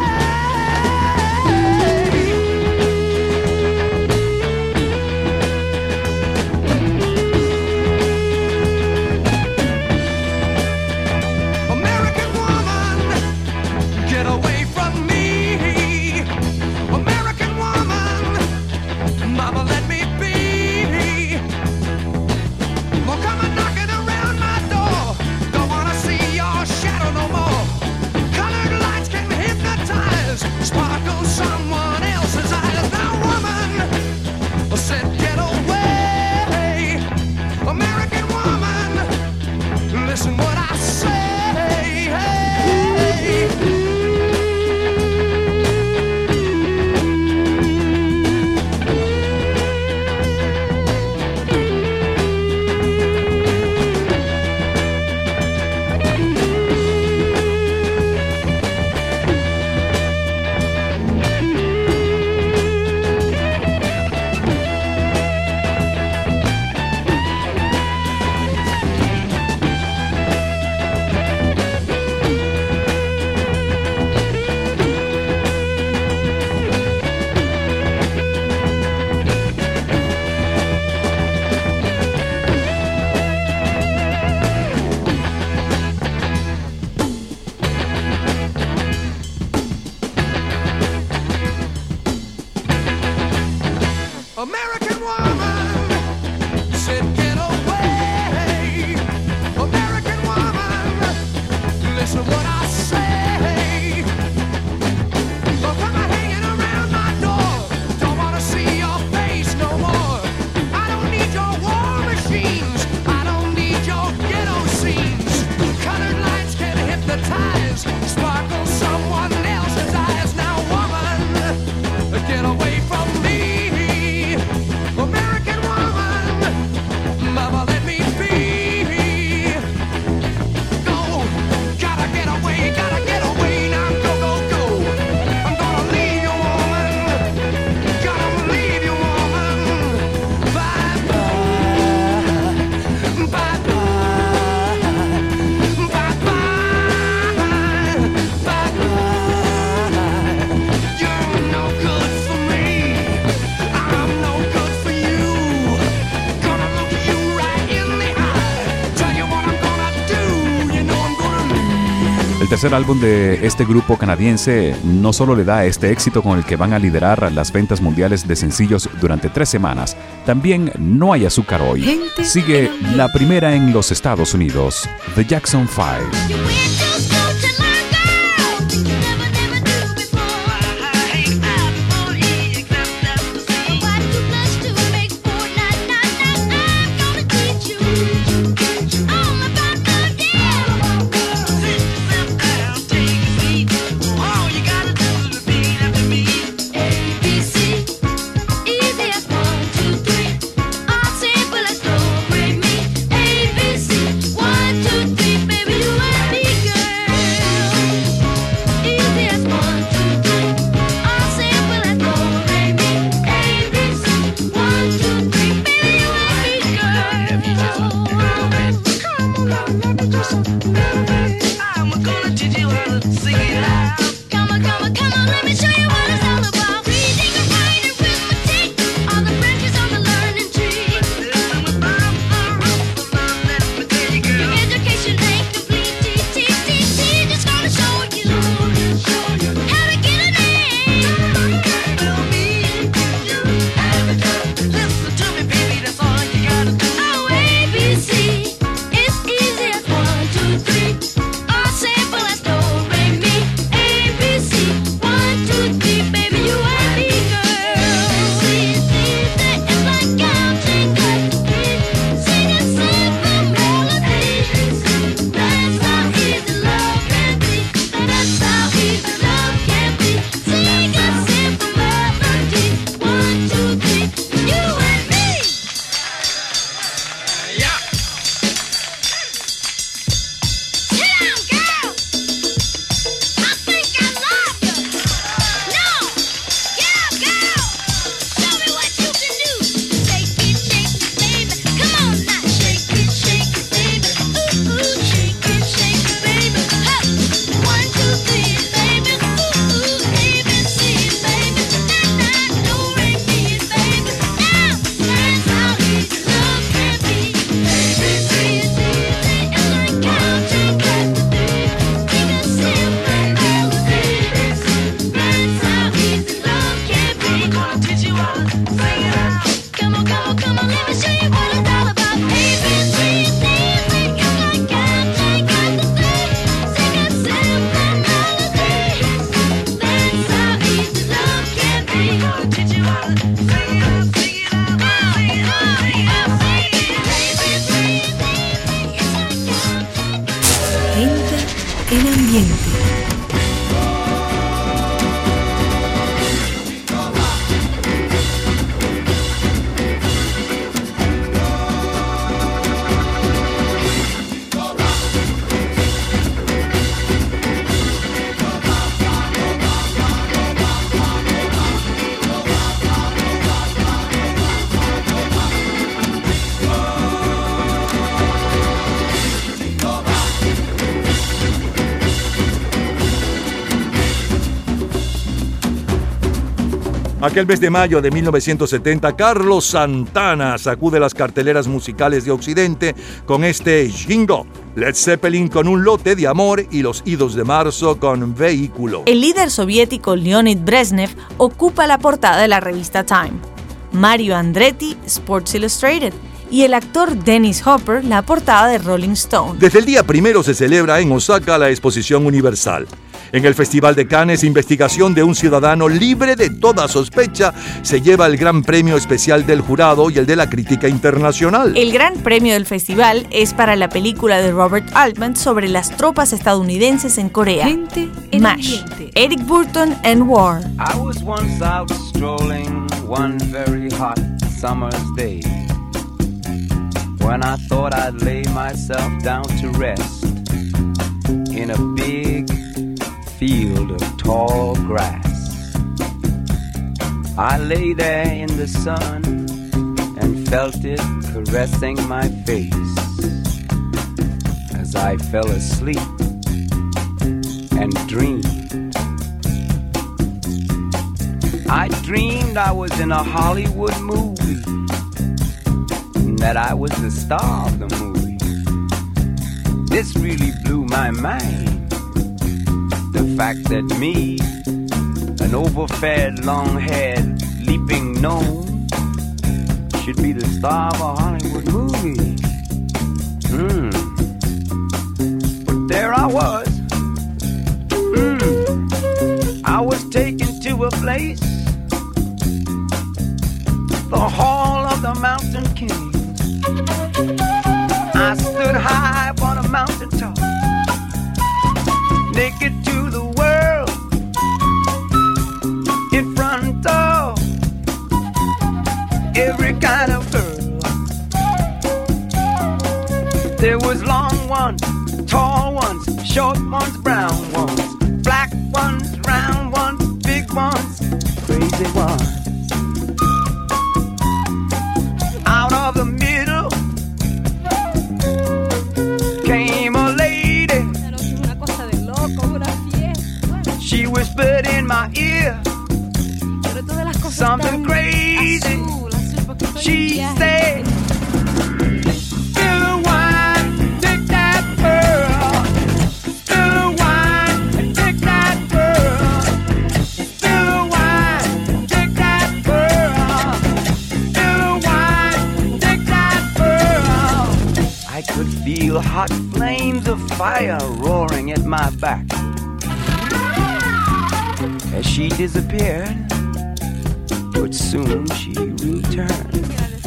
El tercer álbum de este grupo canadiense no solo le da este éxito con el que van a liderar las ventas mundiales de sencillos durante 3 semanas, también No hay azúcar hoy. Sigue la primera en los Estados Unidos, The Jackson 5. All about the en ambiente. Aquel mes de mayo de 1970, Carlos Santana sacude las carteleras musicales de Occidente con este Jingo. Led Zeppelin con Un lote de amor y Los idos de marzo con Vehículo. El líder soviético Leonid Brezhnev ocupa la portada de la revista Time. Mario Andretti, Sports Illustrated. Y el actor Dennis Hopper, la portada de Rolling Stone. Desde el día 1 se celebra en Osaka la Exposición Universal. En el Festival de Cannes, investigación de un ciudadano libre de toda sospecha se lleva el Gran Premio Especial del Jurado y el de la Crítica Internacional. El Gran Premio del festival es para la película de Robert Altman sobre las tropas estadounidenses en Corea. Gente en MASH, ambiente. Eric Burton and War. I was once out strolling one very hot summer's day, when I thought I'd lay myself down to rest in a big field of tall grass. I lay there in the sun and felt it caressing my face as I fell asleep and dreamed. I dreamed I was in a Hollywood movie, that I was the star of the movie. This really blew my mind. The fact that me, an overfed, long-haired, leaping gnome, should be the star of a Hollywood movie. But there I was. I was taken to a place, the Hall of the Mountain King. I stood high upon a mountain top, naked to the world, in front of every kind of girl. There was long ones, tall ones, short ones, brown ones, black ones, round ones, big ones, crazy ones. Out of the She whispered in my ear something crazy. She said, spill the wine, take that pearl. Spill the wine and take that pearl. Spill the wine, take that pearl. Spill the wine, take that pearl. I could feel hot flames of fire roaring at my back. As she disappeared, but soon she returned.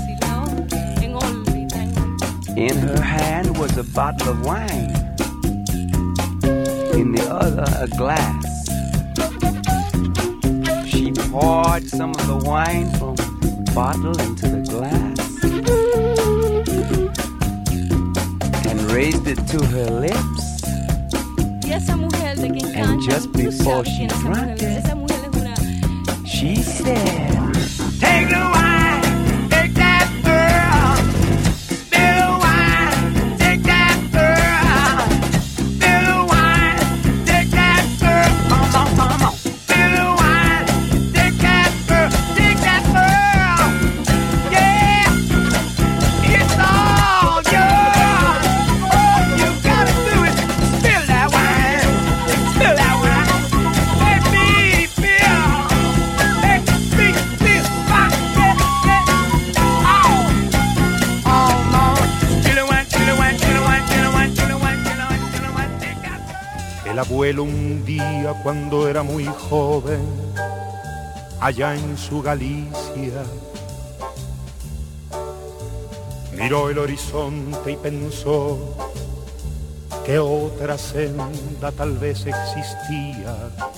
In her hand was a bottle of wine, in the other a glass. She poured some of the wine from the bottle into the glass and raised it to her lips. And just before she drank it, she said, take the wine, take that pearl. Spill the wine, take that pearl. Spill the wine, take that pearl. Come on. Spill the wine, take that pearl, take that pearl. Yeah, it's all yours. All you gotta do is spill that wine, spill that wine. Let me feel. El abuelo un día cuando era muy joven, allá en su Galicia, miró el horizonte y pensó que otra senda tal vez existía.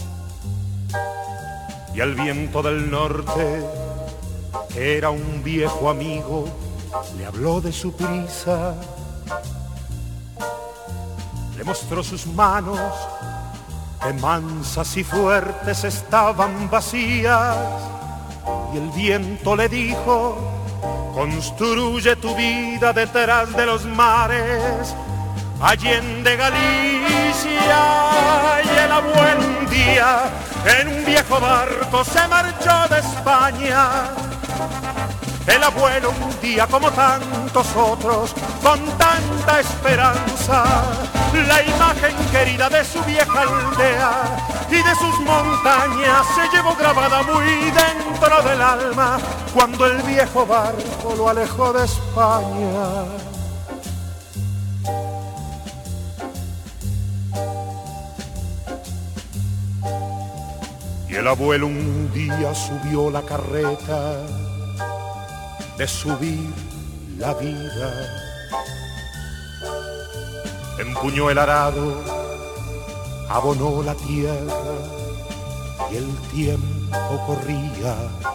Y al viento del norte, que era un viejo amigo, le habló de su prisa. Le mostró sus manos, que mansas y fuertes estaban vacías. Y el viento le dijo, construye tu vida detrás de los mares, allende Galicia. Y el abuelo un día, en un viejo barco, se marchó de España. El abuelo un día, como tantos otros, con tanta esperanza, la imagen querida de su vieja aldea y de sus montañas se llevó grabada muy dentro del alma cuando el viejo barco lo alejó de España. Y el abuelo un día subió la carreta de subir la vida. Empuñó el arado, abonó la tierra y el tiempo corría.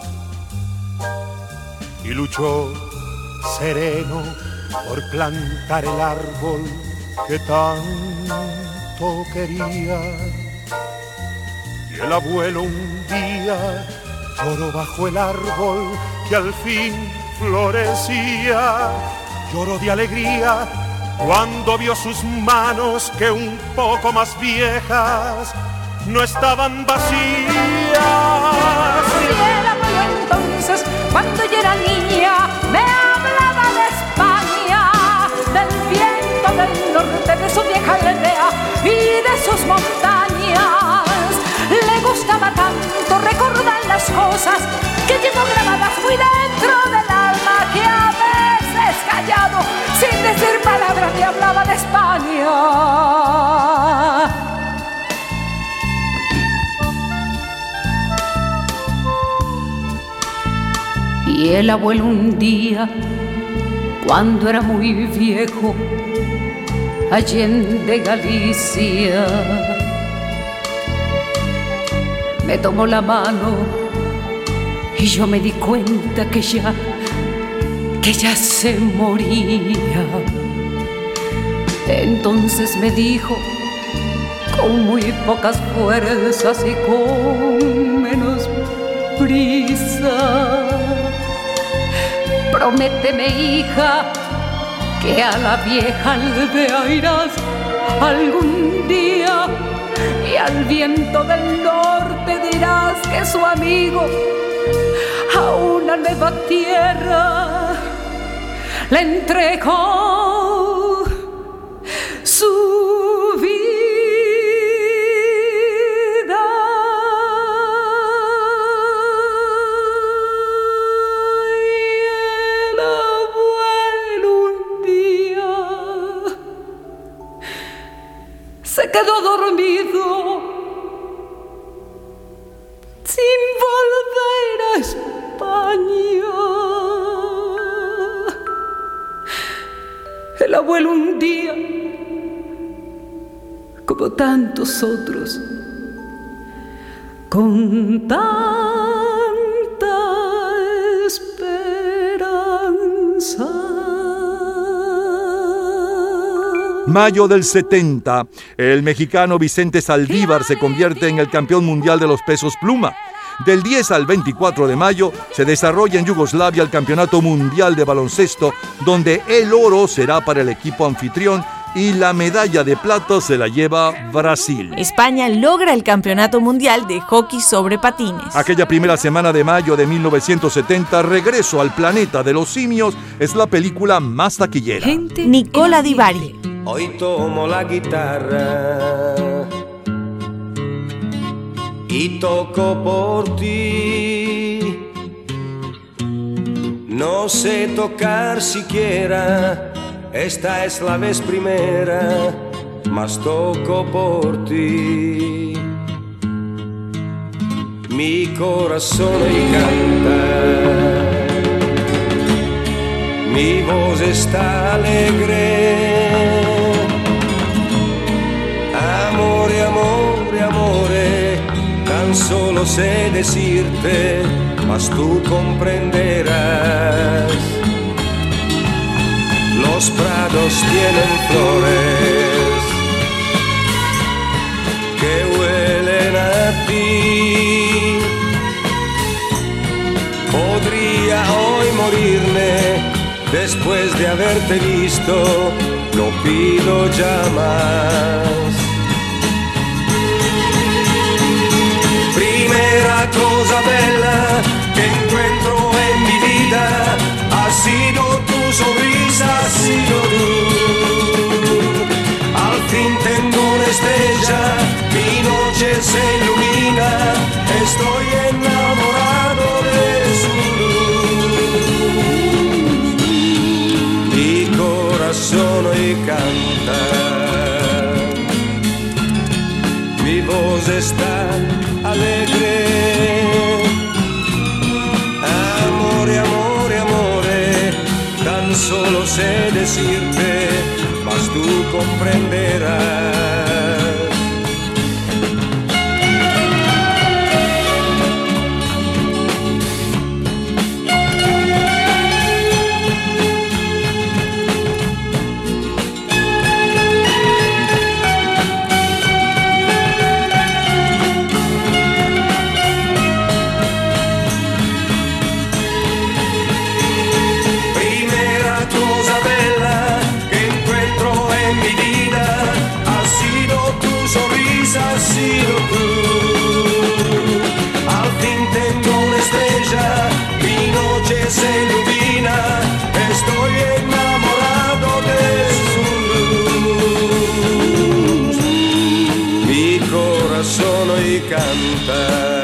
Y luchó sereno por plantar el árbol que tanto quería. Y el abuelo un día lloró bajo el árbol que al fin florecía. Lloró de alegría cuando vio sus manos que un poco más viejas no estaban vacías. Y el abuelo entonces, cuando yo era niña, me hablaba de España, del viento del norte, de su vieja aldea y de sus montañas. Le gustaba tanto recordar las cosas que llevo grabadas muy dentro del alma, que a veces callado, sin decir palabras, me hablaba de España. Y el abuelo un día, cuando era muy viejo, allende Galicia, me tomó la mano y yo me di cuenta que ya se moría. Entonces me dijo, con muy pocas fuerzas y con menos prisa, prométeme, hija, que a la vieja aldea irás algún día y y al viento del norte dirás que su amigo a una nueva tierra le entregó su vida. Y el abuelo un día se quedó dormido sin volver a España. El abuelo un día, como tantos otros, con tanta esperanza. Mayo del 70, el mexicano Vicente Saldívar se convierte en el campeón mundial de los pesos pluma. Del 10 al 24 de mayo se desarrolla en Yugoslavia el Campeonato Mundial de Baloncesto, donde el oro será para el equipo anfitrión y la medalla de plata se la lleva Brasil. España logra el Campeonato Mundial de Hockey sobre patines. Aquella primera semana de mayo de 1970, Regreso al planeta de los simios es la película más taquillera. Nicola Di Bari. Hoy tomo la guitarra y toco por ti. No sé tocar siquiera, esta es la vez primera, mas toco por ti. Mi corazón hoy canta, mi voz está alegre. Amore, amore, amore, tan solo sé decirte, mas tú comprenderás. Los prados tienen flores que huelen a ti. Podría hoy morirme después de haberte visto, no pido ya más. Primera cosa bella que encuentro en mi vida ha sido tu sonrisa, ha sido tú. Al fin tengo una estrella, mi noche se ilumina, estoy enamorado de su luz. Mi corazón hoy canta, mi voz está alegre. Amore, amore, amore, tan solo sé decirte, mas tú comprenderás. Ha sido tú. Al fin tengo una estrella, mi noche se ilumina, estoy enamorado de su luz. Mi corazón hoy canta,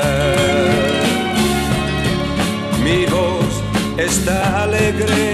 mi voz está alegre.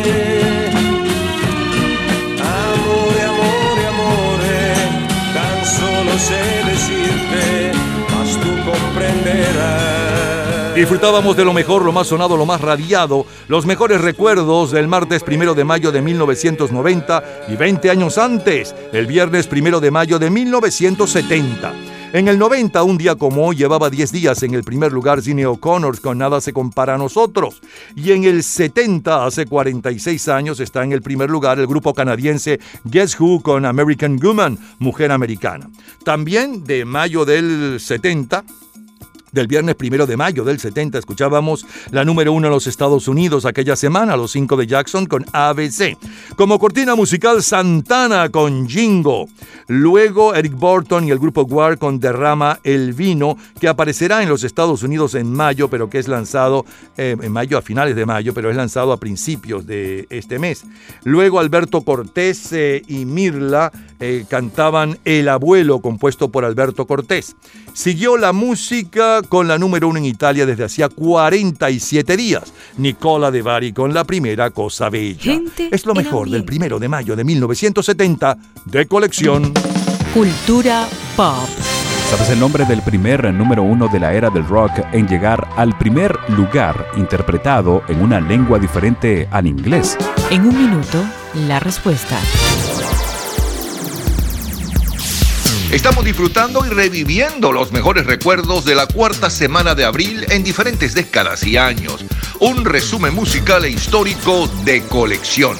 Amore, amore, amore, tan solo sé decirte, mas tú comprenderás. Disfrutábamos de lo mejor, lo más sonado, lo más radiado, los mejores recuerdos del martes 1 de mayo de 1990 y 20 años antes, el viernes 1 de mayo de 1970. En el 90, un día como hoy, llevaba 10 días en el primer lugar Sinéad O'Connor con Nada se compara a nosotros. Y en el 70, hace 46 años, está en el primer lugar el grupo canadiense Guess Who con American Woman, Mujer Americana. También de mayo del 70, del viernes 1 de mayo del 70 escuchábamos la número 1 en los Estados Unidos aquella semana, los 5 de Jackson con ABC. Como cortina musical, Santana con Jingo. Luego Eric Burton y el grupo Guar con Derrama el Vino, que aparecerá en los Estados Unidos en mayo, pero que es lanzado en mayo, a finales de mayo, pero es lanzado a principios de este mes. Luego Alberto Cortés y Mirla cantaban El Abuelo, compuesto por Alberto Cortés. Siguió la música con la número 1 en Italia desde hacía 47 días. Nicola De Bari con La Primera Cosa Bella. Es lo mejor del 1 de mayo de 1970 de colección. Cultura pop. ¿Sabes el nombre del primer número 1 de la era del rock en llegar al primer lugar interpretado en una lengua diferente al inglés? En un minuto, la respuesta. Estamos disfrutando y reviviendo los mejores recuerdos de la cuarta semana de abril en diferentes décadas y años. Un resumen musical e histórico de colección.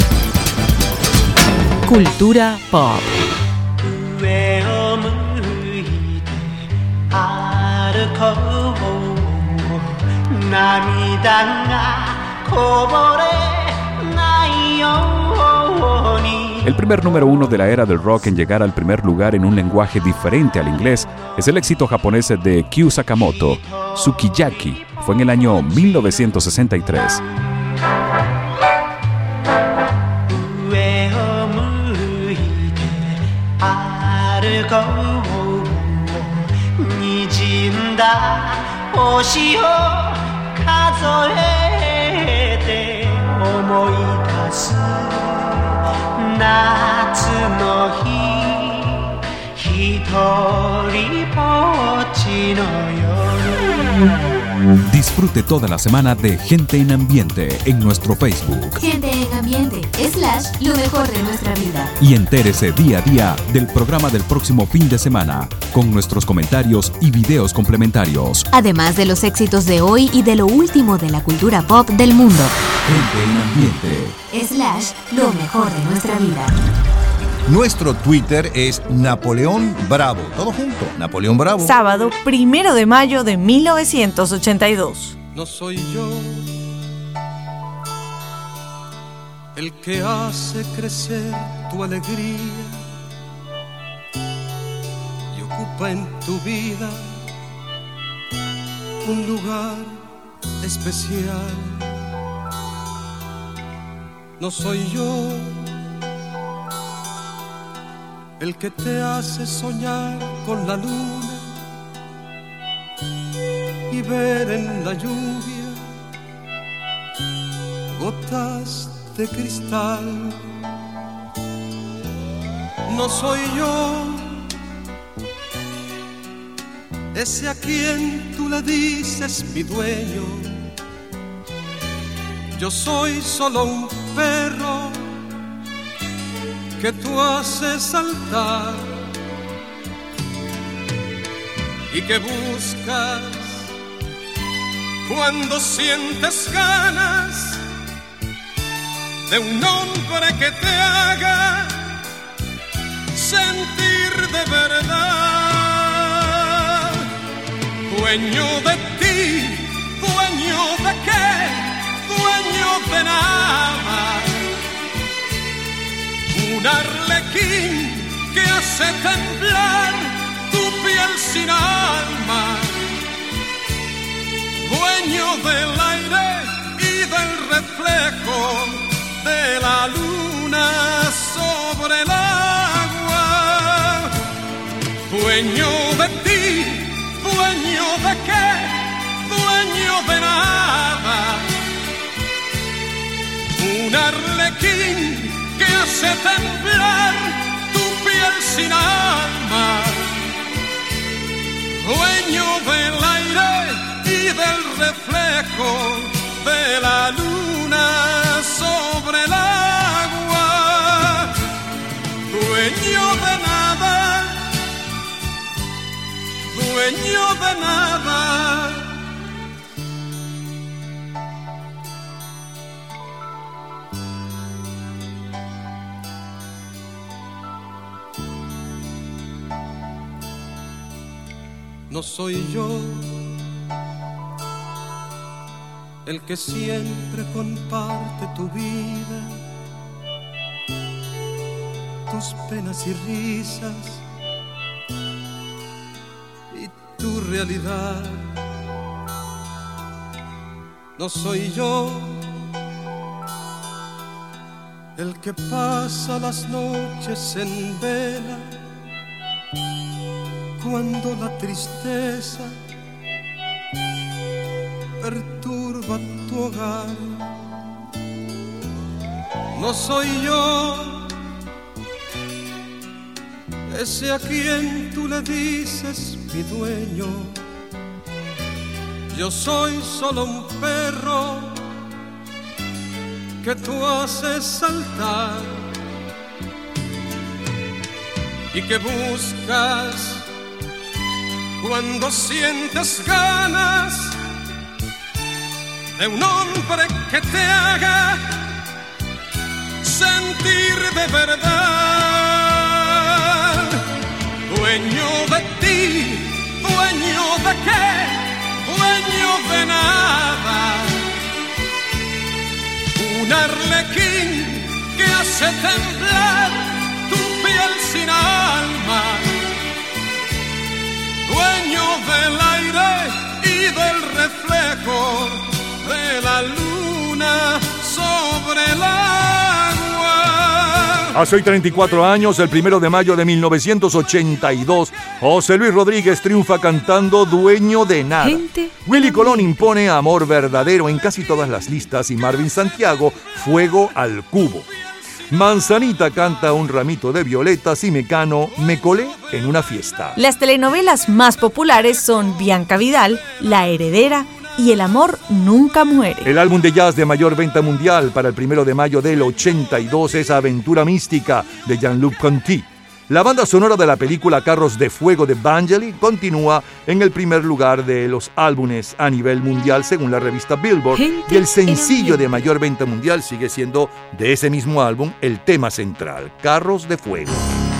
Cultura pop. 上を向いて歩こう涙がこぼれないように El primer número 1 de la era del rock en llegar al primer lugar en un lenguaje diferente al inglés es el éxito japonés de Kyu Sakamoto, Sukiyaki. Fue en el año 1963. 上を向いて歩こう滲んだ星を数えて思い出す夏の日一人ぼっちの夜 Disfrute toda la semana de Gente en Ambiente en nuestro Facebook. Gente en Ambiente / lo mejor de nuestra vida. Y entérese día a día del programa del próximo fin de semana, con nuestros comentarios y videos complementarios. Además de los éxitos de hoy y de lo último de la cultura pop del mundo. Gente en Ambiente / lo mejor de nuestra vida. Nuestro Twitter es Napoleón Bravo. Todo junto, Napoleón Bravo. Sábado 1 de mayo de 1982. No soy yo el que hace crecer tu alegría y ocupa en tu vida un lugar especial. No soy yo el que te hace soñar con la luna y ver en la lluvia gotas de cristal. No soy yo ese a quien tú le dices mi dueño. Yo soy solo un perro que tú haces saltar y que buscas cuando sientes ganas de un hombre que te haga sentir de verdad. Dueño de ti, dueño de qué, dueño de nada. Un arlequín que hace temblar tu piel sin alma. Dueño del aire y del reflejo de la luna sobre el agua. Dueño de ti, dueño de qué, dueño de nada. Un arlequín que hace temblar tu piel sin alma. Dueño del aire y del reflejo de la luna sobre el agua. Dueño de nada, dueño de nada. No soy yo el que siempre comparte tu vida, tus penas y risas y tu realidad. No soy yo el que pasa las noches en vela cuando la tristeza perturba tu hogar. No soy yo ese a quien tú le dices mi dueño. Yo soy solo un perro que tú haces saltar y que buscas cuando sientes ganas de un hombre que te haga sentir de verdad. Dueño de ti, dueño de qué, dueño de nada. Un arlequín que hace temblar tu piel sin alma. Dueño del aire y del reflejo de la luna sobre el agua. Hace hoy 34 años, el 1 de mayo de 1982, José Luis Rodríguez triunfa cantando Dueño de Nada. Willy Colón impone Amor Verdadero en casi todas las listas y Marvin Santiago, Fuego al Cubo. Manzanita canta Un ramito de violetas y Mecano, Me colé en una fiesta. Las telenovelas más populares son Bianca Vidal, La heredera y El amor nunca muere. El álbum de jazz de mayor venta mundial para el 1 de mayo del 82 es Aventura Mística de Jean-Luc Ponty. La banda sonora de la película Carros de Fuego de Vangelis continúa en el primer lugar de los álbumes a nivel mundial según la revista Billboard, y el sencillo de mayor venta mundial sigue siendo de ese mismo álbum el tema central, Carros de Fuego.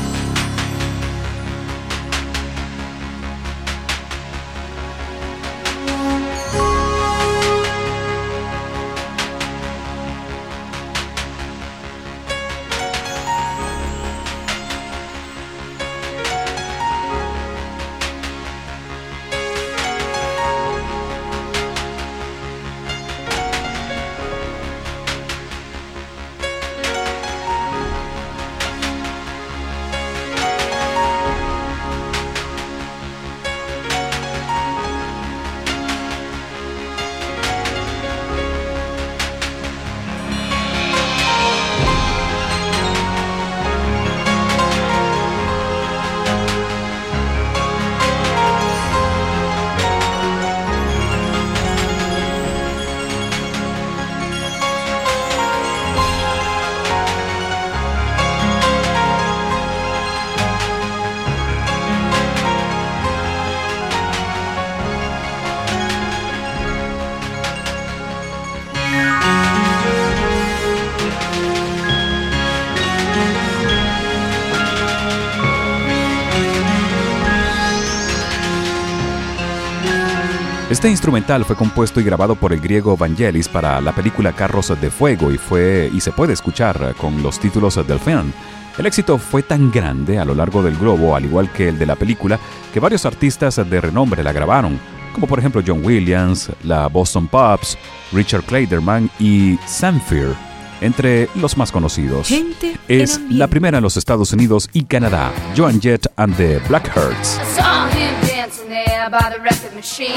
Este instrumental fue compuesto y grabado por el griego Vangelis para la película Carros de Fuego y se puede escuchar con los títulos del film. El éxito fue tan grande a lo largo del globo, al igual que el de la película, que varios artistas de renombre la grabaron, como por ejemplo John Williams, la Boston Pops, Richard Clayderman y Zamfir, entre los más conocidos. Es la primera en los Estados Unidos y Canadá, Joan Jett and the Blackhearts. There by the record machine,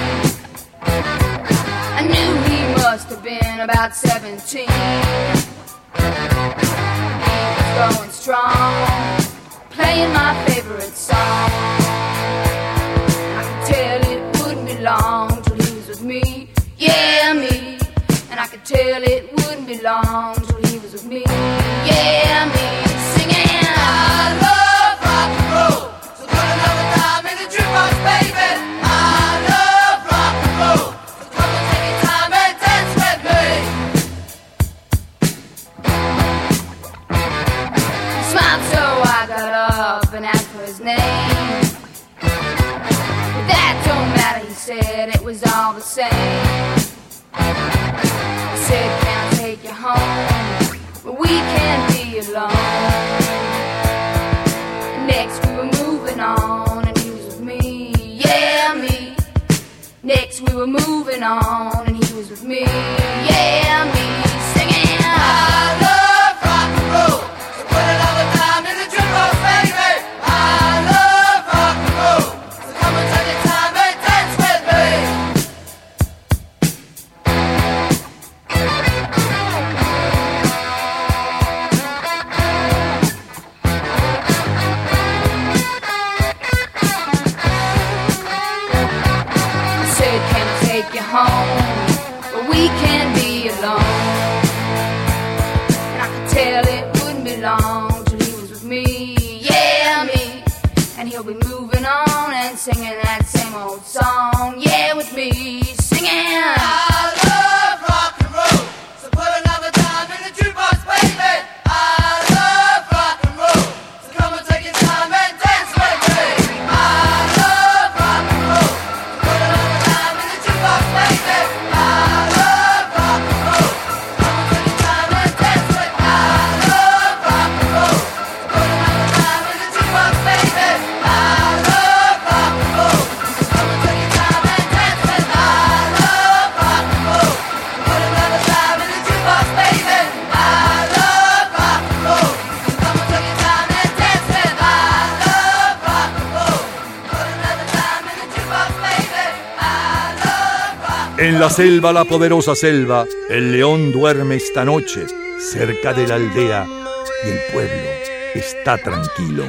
I knew he must have been about 17. He was going strong, playing my favorite song. I could tell it wouldn't be long till he was with me, yeah, me. And I could tell it wouldn't be long till he was with me, yeah, me. Singing, I love rock and roll, so put another dime in the jukebox, baby. I love rock and roll, so come and take your time and dance with me. He smiled, so I got up and asked for his name. But that don't matter, he said, it was all the same. alone. Next we were moving on and he was with me, yeah, me. Next we were moving on and he was with me, yeah, me. Singing I love rock and roll, so put another time in the jukebox, baby. I love rock and roll, so come and take your time and dance with me. Said, can I take you home? But we can't be alone. And I could tell it wouldn't be long till he was with me, yeah, me. And he'll be moving on and singing that same old song, yeah, with me, singing I love rock and roll, so put another dime in the jukebox, baby. I love rock and roll, so come and take your time and dance with me. I love rock and roll, so put another dime in the jukebox, baby. I love rock and roll, so come and take your time and dance with me. I love rock and roll, so put another dime in the jukebox, baby. I love rock and roll, so come and take your time and dance with me. I love rock and roll, so put another dime in the jukebox, baby. I love rock and roll, so come and take your time and dance with me. I love rock and roll, put another dime in the jukebox, baby. I love rock. En la selva, la poderosa selva, el león duerme esta noche cerca de la aldea y el pueblo está tranquilo.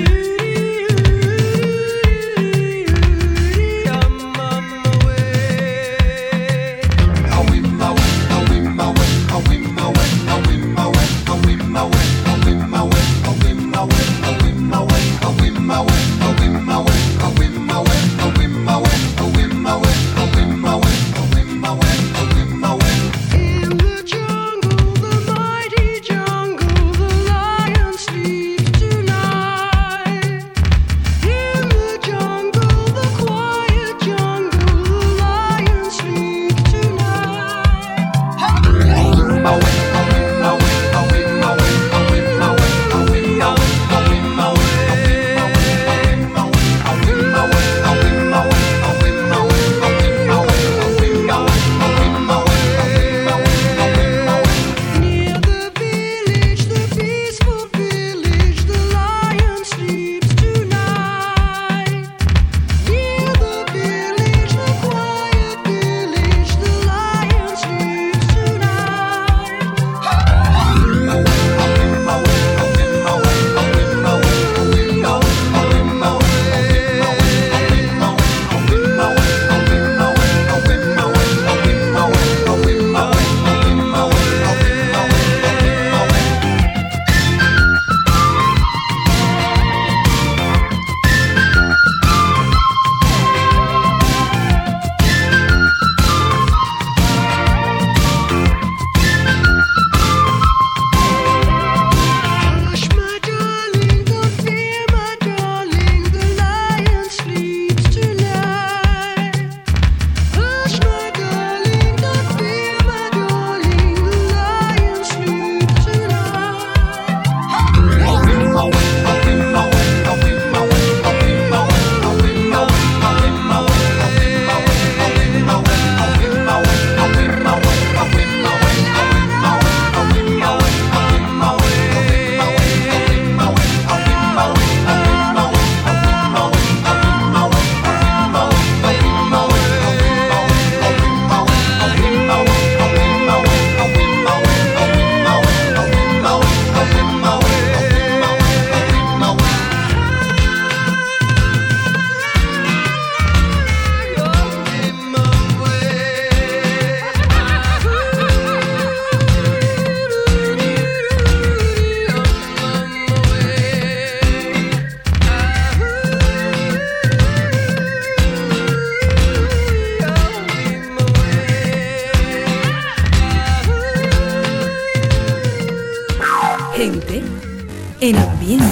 Gente en ambiente.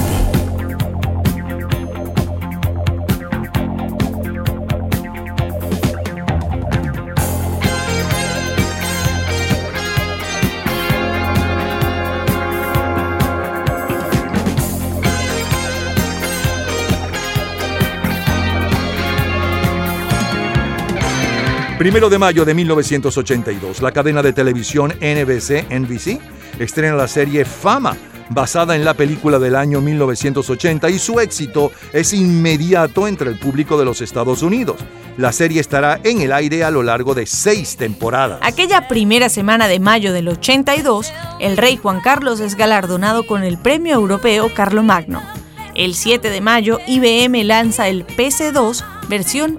1 de mayo de 1982, la cadena de televisión NBC estrena la serie Fama, basada en la película del año 1980, y su éxito es inmediato entre el público de los Estados Unidos. La serie estará en el aire a lo largo de 6 temporadas. Aquella primera semana de mayo del 82, el rey Juan Carlos es galardonado con el Premio Europeo Carlomagno. El 7 de mayo, IBM lanza el PC-2 versión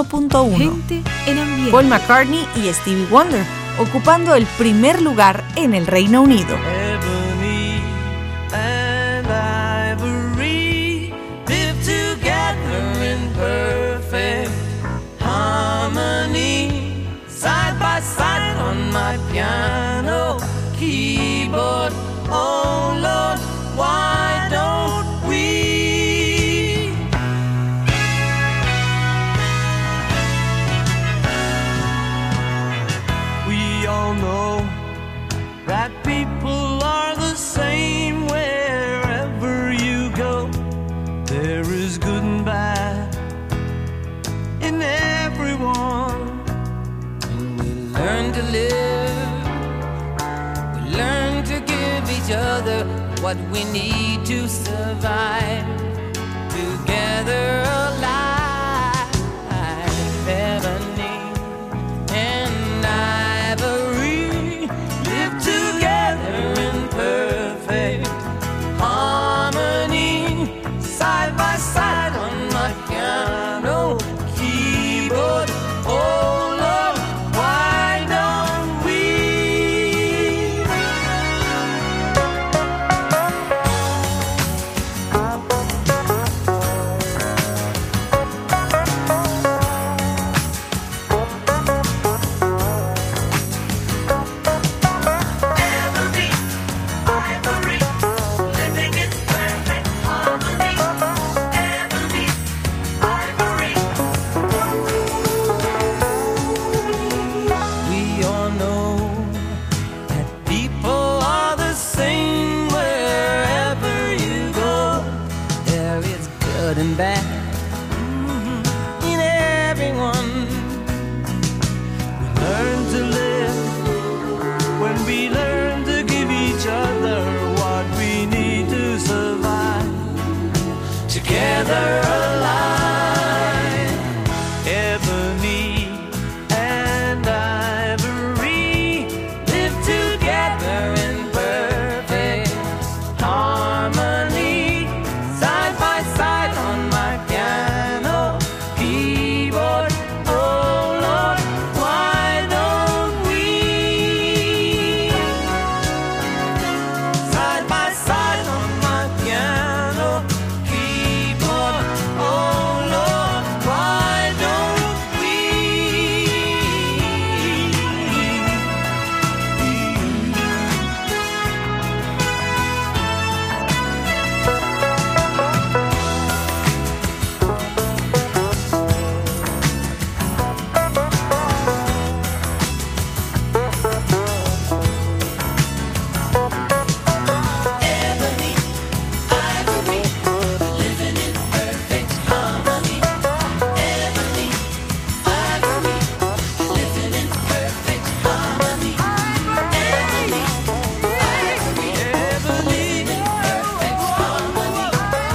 1.1. Paul McCartney y Stevie Wonder, ocupando el primer lugar en el Reino Unido. Ebony and ivory live together in perfect harmony, side by side on my piano keyboard. Oh Lord, why don't we? We all know that people are the same wherever you go. There is good and bad in everyone. When we learn to live, we learn to give each other what we need to survive. Together alive, ebony and ivory live together in perfect harmony, side by side on my piano keyboard. Oh Lord, why don't we? We all know that people are the same wherever you go. There is good and bad in everyone. We learn to live when we learn to give each other what we need to survive. Together alive, ebony and ivory live together in perfect harmony, side by side on my piano keyboard. Oh Lord, why don't we? Side by side on my piano keyboard. Oh Lord, why don't we? Ebony, ivory, living in perfect harmony. Ebony, ivory, living in perfect harmony. Ebony, ivory, living in perfect harmony.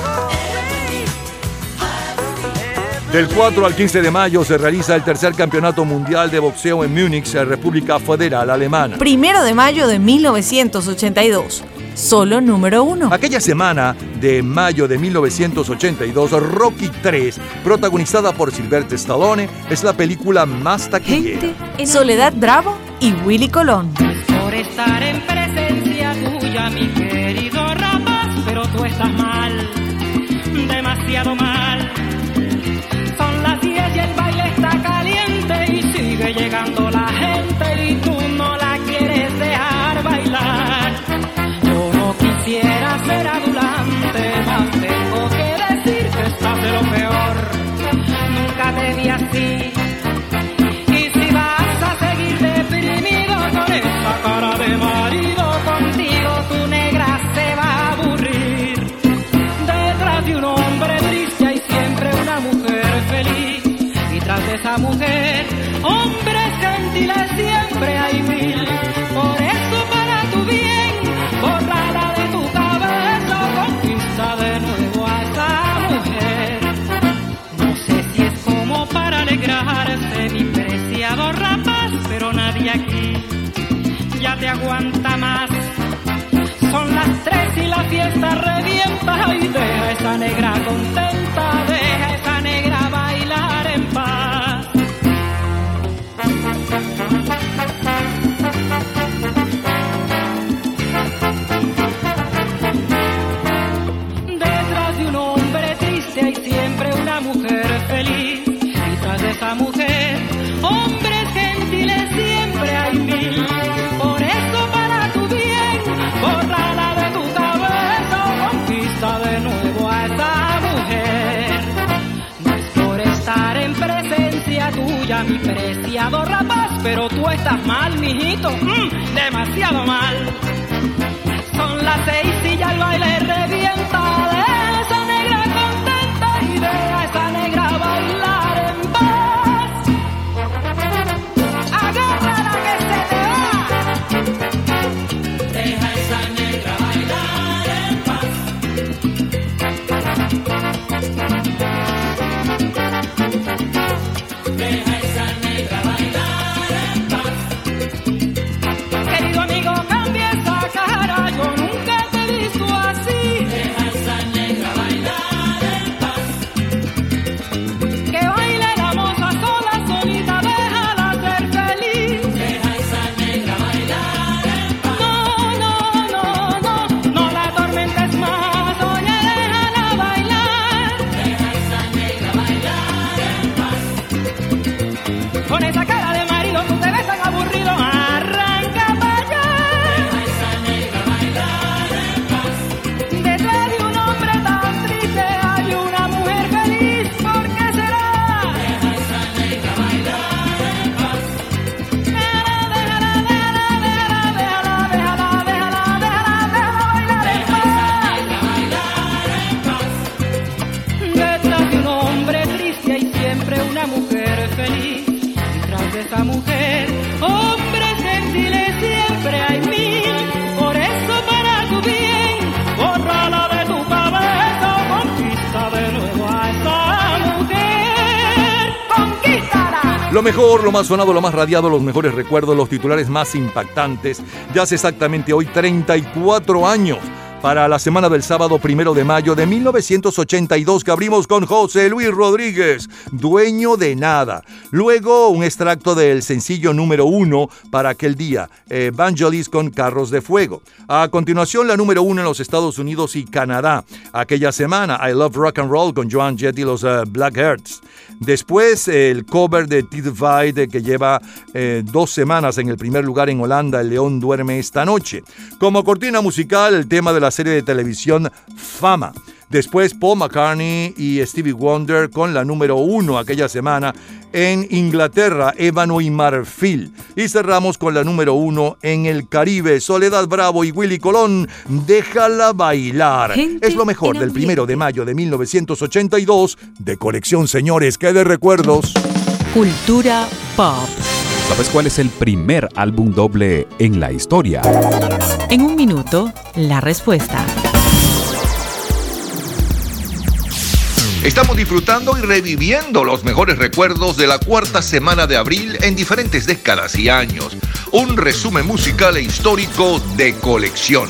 Del 4 al 15 de mayo se realiza el tercer campeonato mundial de boxeo en Múnich, República Federal Alemana. 1 de mayo de 1982, solo número 1. Aquella semana de mayo de 1982, Rocky III, protagonizada por Sylvester Stallone, es la película más taquillera. Soledad Bravo y Willy Colón. Por estar en presencia tuya, mi querido rapaz, pero tú estás mal, demasiado mal. Son las 10 y el baile está caliente y sigue llegando la gente y tú no la quieres dejar bailar. Yo no quisiera ser adulante, mas tengo que decir que estás de lo peor. Nunca te vi así. Y si vas a seguir deprimido con esa cara de marido, contigo tu negra se va a aburrir. Detrás de un hombre triste hay siempre una mujer feliz. Y Detrás de esa mujer, hombres gentiles siempre hay mil. Por eso para tu bien, bórrala de tu cabeza, conquista de nuevo a esa mujer. No sé si es como para alegrarse, mi preciado rapaz, pero nadie aquí ya te aguanta más. Son las 3 y la fiesta revienta, y deja esa negra contenta, deja esa negra bailar en paz. Detrás de un hombre triste hay siempre una mujer feliz. Detrás de esa mujer, hombres gentiles siempre hay mil. Por eso para tu bien, bórrala de tu cabeza, conquista de nuevo a esa mujer. No es por estar en presencia tuya, mi preciado rapaz, pero tú estás mal, mijito, demasiado mal. Son las 6 y ya el baile revienta, de esa negra contenta y de esa negra bailar en paz. Agárrala que se te va. Deja esa negra bailar en paz. Deja esa negra bailar en paz. Querido amigo, cambia esa cara, yo nunca te he visto así. Deja esa negra bailar en paz. Que baile la moza sola, solita, déjala ser feliz. Deja esa negra bailar en paz. No la atormentes más, oye, déjala bailar. Deja esa negra bailar en paz. Con esa cara de marido tú te ves tan aburrido, arranca para allá. Deja esa negra bailar en paz. Detrás de un hombre tan triste hay una mujer feliz, ¿por qué será? Deja esa negra bailar en paz. Déjala bailar en paz. Detrás de un hombre triste hay siempre una mujer feliz. Detrás de esa mujer, hombres gentiles siempre hay mil. Por eso para tu bien, bórrala de tu cabeza, conquista de nuevo a esa mujer. ¡Conquístala! Lo mejor, lo más sonado, lo más radiado, los mejores recuerdos, los titulares más impactantes. Ya hace exactamente hoy 34 años para la semana del sábado 1 de mayo de 1982 que abrimos con José Luis Rodríguez, Dueño de Nada. Luego un extracto del sencillo número 1 para aquel día, Vangelis con Carros de Fuego. A continuación la número 1 en los Estados Unidos y Canadá. Aquella semana, I Love Rock and Roll con Joan Jett y los Blackhearts. Después el cover de T-Divide que lleva 2 semanas en el primer lugar en Holanda, El León Duerme Esta Noche. Como cortina musical, el tema de la serie de televisión Fama. Después Paul McCartney y Stevie Wonder con la número 1 aquella semana en Inglaterra, Ébano y Marfil. Y cerramos con la número 1 en el Caribe, Soledad Bravo y Willy Colón, Déjala Bailar. Es lo mejor del 1 de mayo de 1982 de colección, señores, que de recuerdos. Cultura pop. ¿Sabes cuál es el primer álbum doble en la historia? En un minuto, la respuesta. Estamos disfrutando y reviviendo los mejores recuerdos de la cuarta semana de abril en diferentes décadas y años. Un resumen musical e histórico de colección.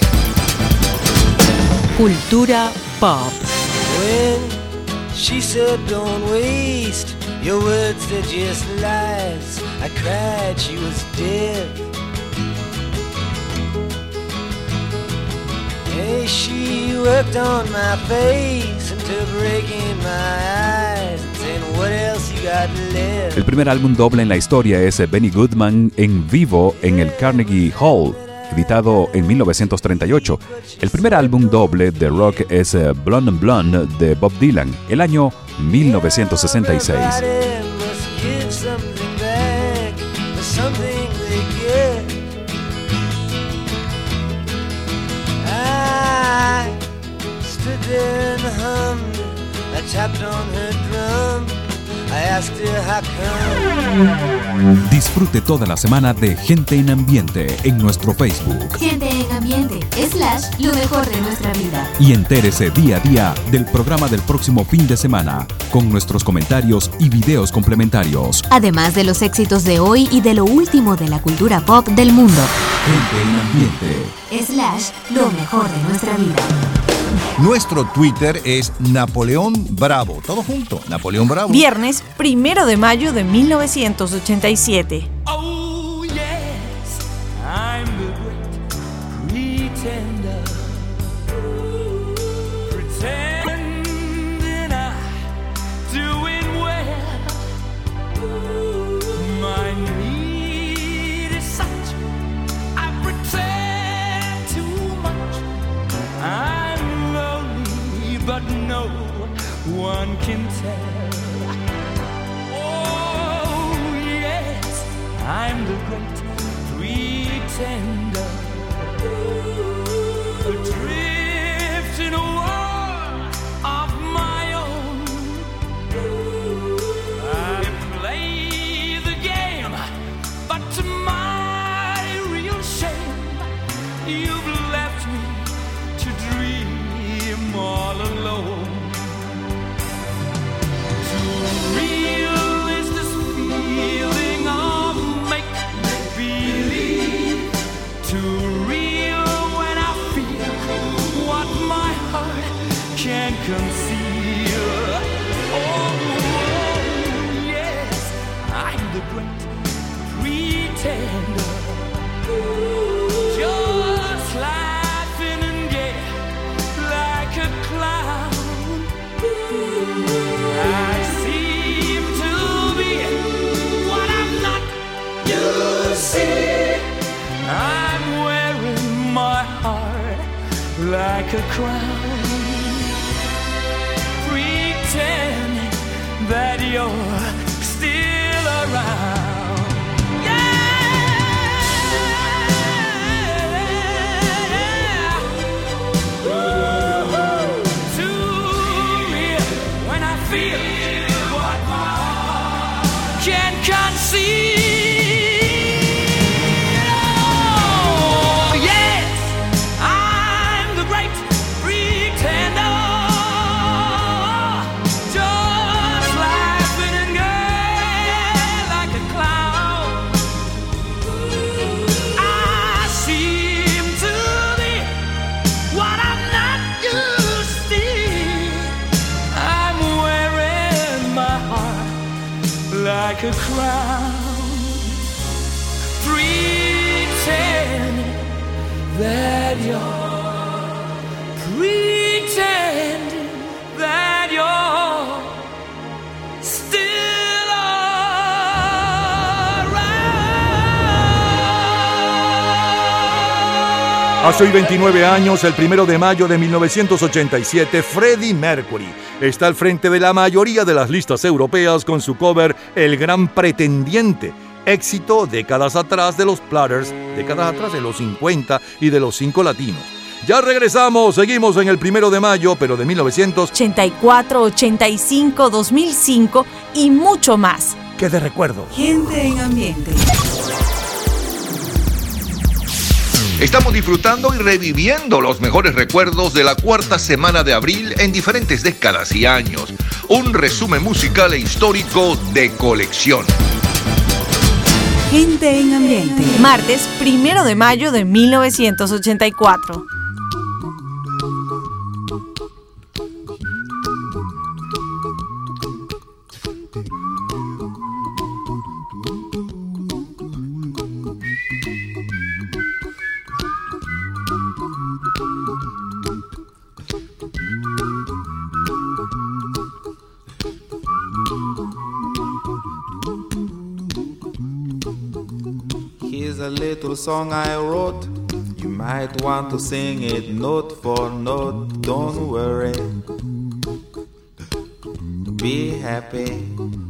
Cultura pop. When she said don't waste your words, they're just lies, I cried she was dead. Hey, she worked on my face until breaking my eyes and saying what else you got left. El primer álbum doble en la historia es Benny Goodman en vivo en el Carnegie Hall, editado en 1938. El primer álbum doble de rock es Blonde on Blonde de Bob Dylan, el año 1966. I tapped on her drum. I asked you how come. Disfrute toda la semana de Gente en Ambiente en nuestro Facebook. Gente en Ambiente / lo mejor de nuestra vida. Y entérese día a día del programa del próximo fin de semana, con nuestros comentarios y videos complementarios. Además de los éxitos de hoy y de lo último de la cultura pop del mundo. Gente en Ambiente / lo mejor de nuestra vida. Nuestro Twitter es Napoleón Bravo. Todo junto, Napoleón Bravo. Viernes 1 de mayo de 1987. Oh yes, I'm the great pretender, pretending I'm doing well. My need is such, I pretend too much. I'm lonely, but no one can tell. Oh yes, I'm the great pretender, adrift in a world of my own. I play the game, but to my real shame, you've left me to dream all alone. Too real is this feeling of make-believe. Too real when I feel what my heart can't conceal. Oh, yes, I'm the great pretender, just laughing and gay like a clown. I seem to be what I'm not. You see, I'm wearing my heart like a crown, pretending that you're still around. Like a crown, pretending that you're, pretending that you're still around. Hace hoy 29 años, el 1 de mayo de 1987, Freddie Mercury está al frente de la mayoría de las listas europeas con su cover El Gran Pretendiente, éxito décadas atrás de los Platters, décadas atrás de los 50 y de los 5 latinos. Ya regresamos, seguimos en el 1 de mayo, pero de 1984, 85, 2005 y mucho más. ¿Qué de recuerdo? Gente en Ambiente. Estamos disfrutando y reviviendo los mejores recuerdos de la cuarta semana de abril en diferentes décadas y años. Un resumen musical e histórico de colección. Gente en Ambiente. Martes 1 de mayo de 1984. Here's a little song I wrote. You might want to sing it note for note. Don't worry, be happy.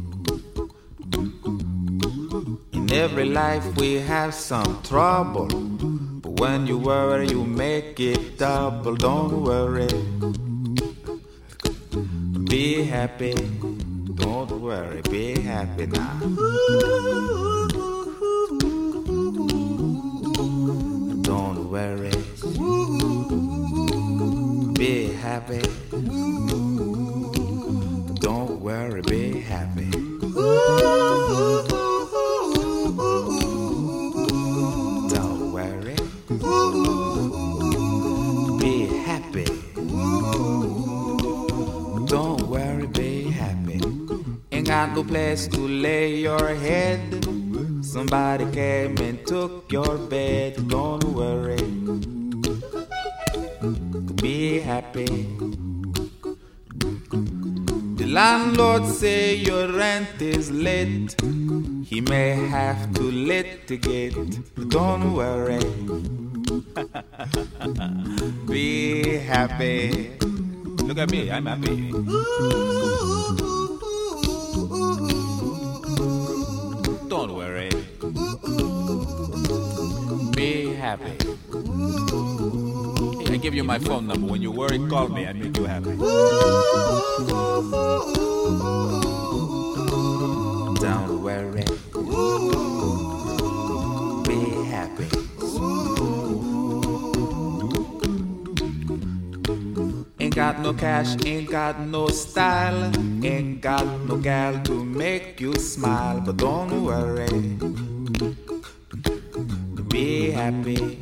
In every life we have some trouble, but when you worry you make it double. Don't worry, be happy. Don't Don't worry, be happy now. Don't worry, be happy. Don't worry, be happy. Don't worry, be happy. Don't worry, be happy. Ain't got no place to lay your head. Somebody came and took your bed. Don't worry, be happy. The landlord say your rent is late. He may have to litigate. Don't worry, be happy. Look at me, I'm happy. Don't worry, be happy. Hey, I give you my phone number. When you worry, call me. I make you happy. Don't worry, be happy. Ain't got no cash, ain't got no style, ain't got no gal to make you smile. But don't worry, be happy.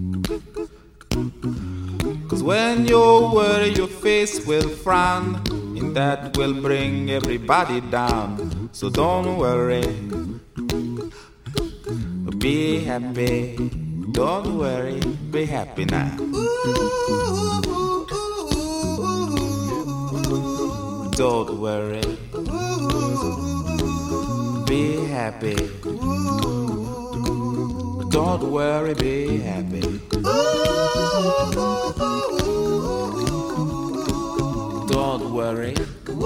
Cause when you worry, your face will frown, and that will bring everybody down. So don't worry, be happy. Don't worry, be happy now. Don't worry, be happy. Don't worry, be happy. Don't worry,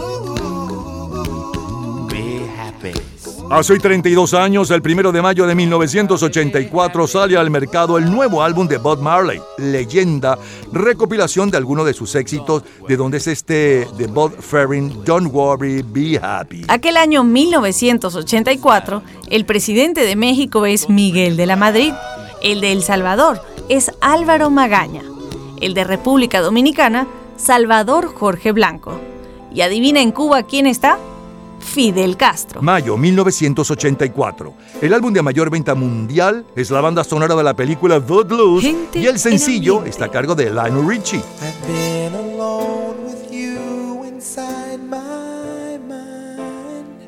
be happy. Hace hoy 32 años, el 1 de mayo de 1984, sale al mercado el nuevo álbum de Bob Marley, Leyenda, recopilación de algunos de sus éxitos, de donde es este de Bob Ferrin, Don't Worry, Be Happy. Aquel año 1984, el presidente de México es Miguel de la Madrid, el de El Salvador es Álvaro Magaña, el de República Dominicana, Salvador Jorge Blanco. ¿Y adivina en Cuba quién está? Fidel Castro. Mayo 1984. El álbum de mayor venta mundial es la banda sonora de la película Footloose y el sencillo está a cargo de Lionel Richie. I've been alone with you inside my mind,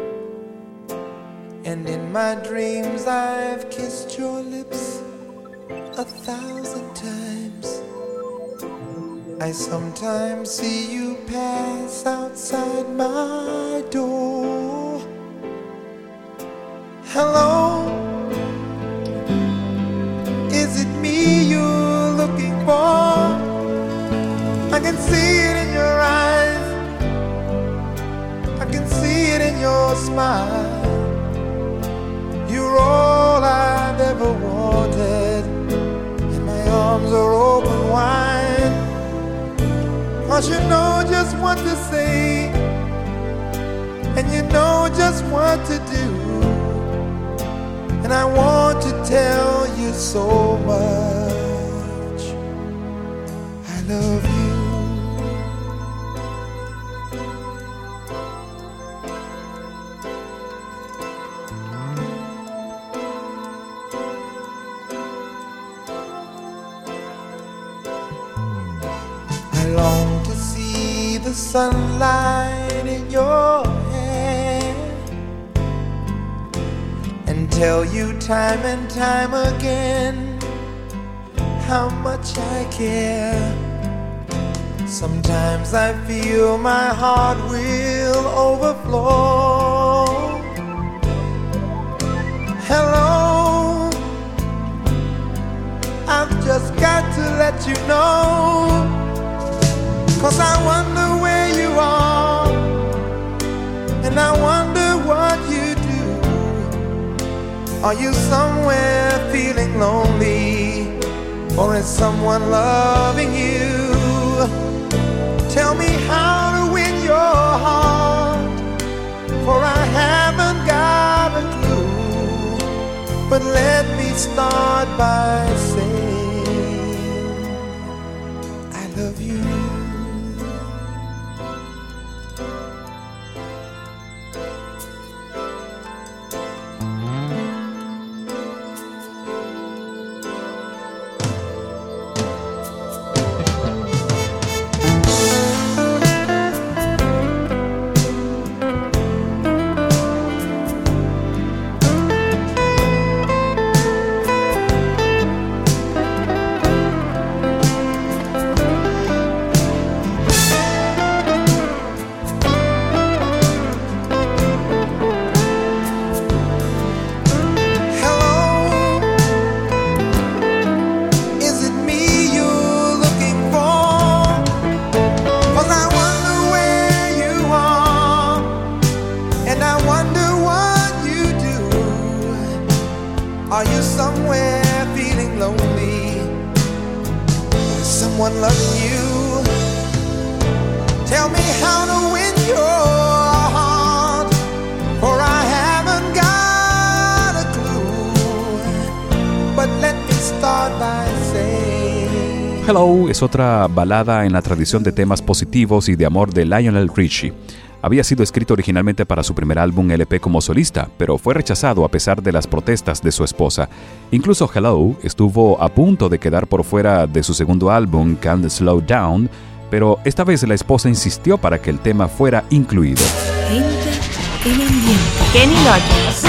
and in my dreams I've kissed your lips 1,000 times. I sometimes see you pass outside my door. Hello, is it me you're looking for? I can see it in your eyes, I can see it in your smile. You're all I've ever wanted, and my arms are open wide. 'Cause you know just what to say, and you know just what to do, and I want to tell you so much I love you. I long to see the sunlight in your hair and tell you time and time again how much I care. Sometimes I feel my heart will overflow. Hello, I've just got to let you know, 'cause I wonder where you are, and I wonder what you do. Are you somewhere feeling lonely, or is someone loving you? Tell me how to win your heart, for I haven't got a clue. But let me start by saying I love you. Are you somewhere feeling lonely? Is someone loving you? Tell me how to win your heart, for I haven't got a clue. But let me start by saying Hello es otra balada en la tradición de temas positivos y de amor de Lionel Richie. Había sido escrito originalmente para su primer álbum LP como solista, pero fue rechazado a pesar de las protestas de su esposa. Incluso Hello estuvo a punto de quedar por fuera de su segundo álbum, Can't Slow Down, pero esta vez la esposa insistió para que el tema fuera incluido. Kenny Loggins.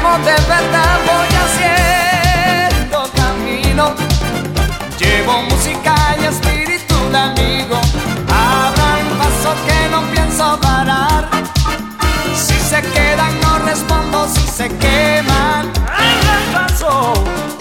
como de verdad voy haciendo camino. Llevo música y espíritu de amigo. Abran paso que no pienso parar. Si se quedan no respondo, si se queman abran paso.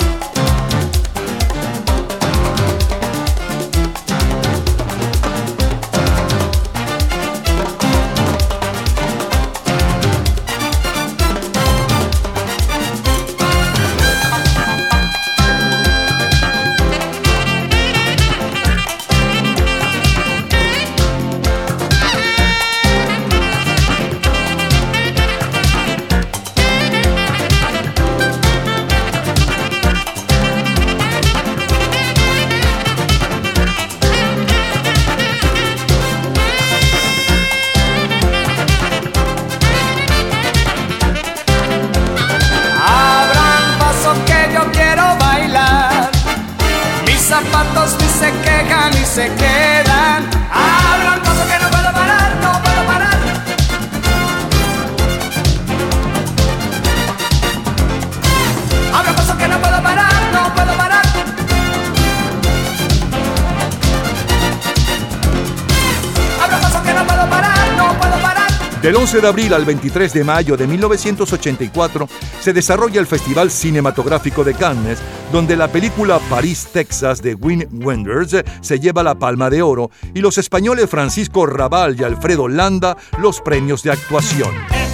Zapatos ni se quejan ni se quedan. Abran paso que no puedo parar, no puedo parar. Abran paso que no puedo parar, no puedo parar. Abran paso que no puedo parar, no puedo parar. Del 11 de abril al 23 de mayo de 1984 se desarrolla el Festival Cinematográfico de Cannes, donde la película París, Texas de Wim Wenders se lleva la Palma de Oro y los españoles Francisco Rabal y Alfredo Landa los premios de actuación.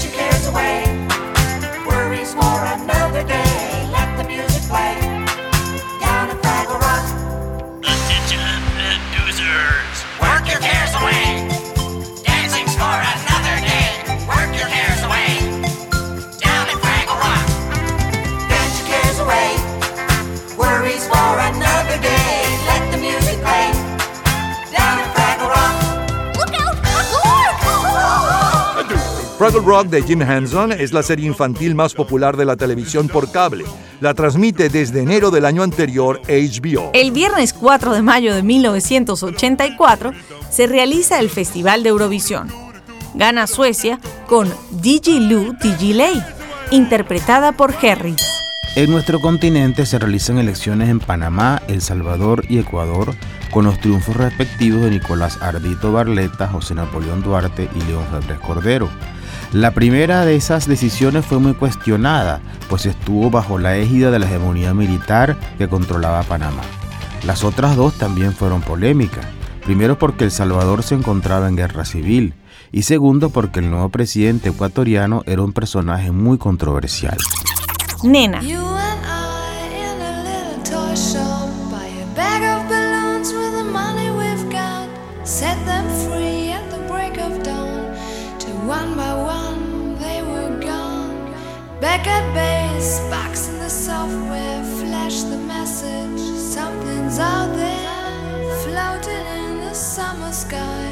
Fraggle Rock de Jim Henson es la serie infantil más popular de la televisión por cable. La transmite desde enero del año anterior HBO. El viernes 4 de mayo de 1984 se realiza el Festival de Eurovisión. Gana Suecia con Diggiloo Diggiley, interpretada por Harry. En nuestro continente se realizan elecciones en Panamá, El Salvador y Ecuador, con los triunfos respectivos de Nicolás Ardito Barletta, José Napoleón Duarte y León Febres Cordero. La primera de esas decisiones fue muy cuestionada, pues estuvo bajo la égida de la hegemonía militar que controlaba Panamá. Las otras dos también fueron polémicas. Primero porque El Salvador se encontraba en guerra civil y segundo porque el nuevo presidente ecuatoriano era un personaje muy controversial. Nena. You and I in a little toy shop, buy a bag of balloons with the money we've got, set them free at the break of dawn, till one by one they were gone. Back at base, box in the software, flash the message, something's out there, floating in the summer sky,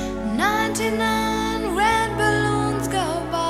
99 red balloons go by.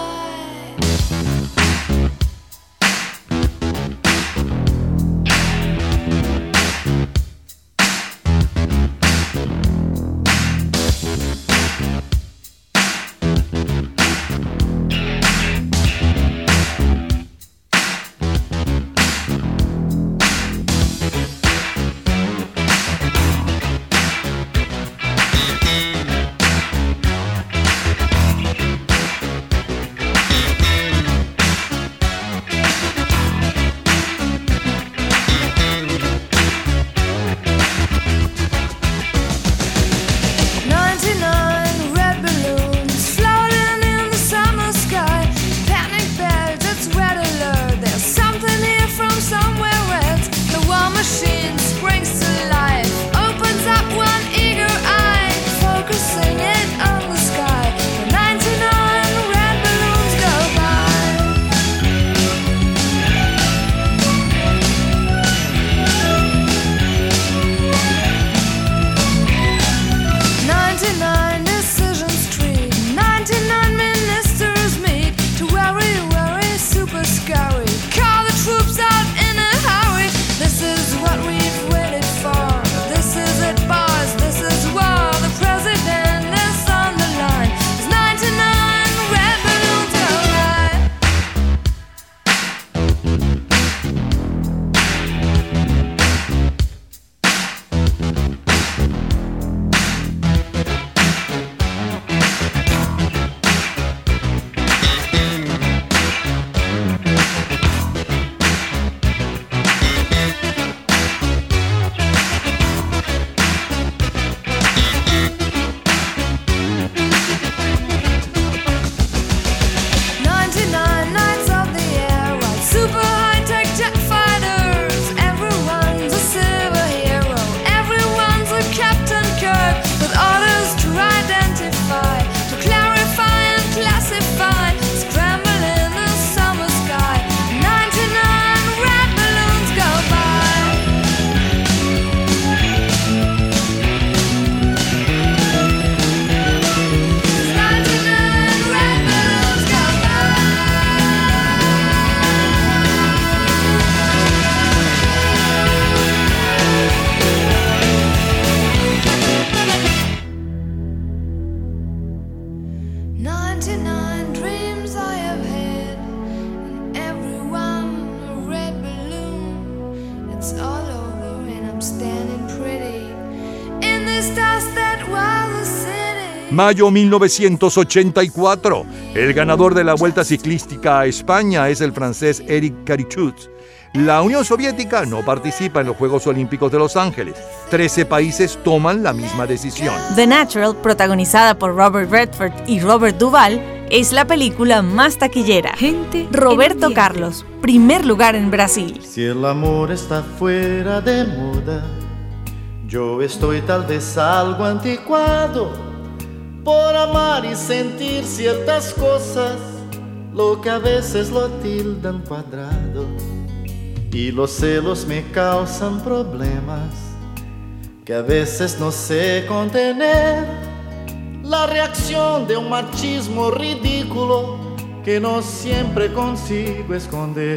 99 dreams I have had, and every one a red balloon. It's all over and I'm standing pretty in this dust that was the city. Mayo 1984. El ganador de la Vuelta Ciclística a España es el francés Eric Carichut. La Unión Soviética no participa en los Juegos Olímpicos de Los Ángeles. 13 países toman la misma decisión. The Natural, protagonizada por Robert Redford y Robert Duvall, es la película más taquillera. Roberto Carlos, primer lugar en Brasil. Si el amor está fuera de moda, yo estoy tal vez algo anticuado por amar y sentir ciertas cosas, lo que a veces lo tildan cuadrado. Y los celos me causan problemas que a veces no sé contener. La reacción de un machismo ridículo que no siempre consigo esconder.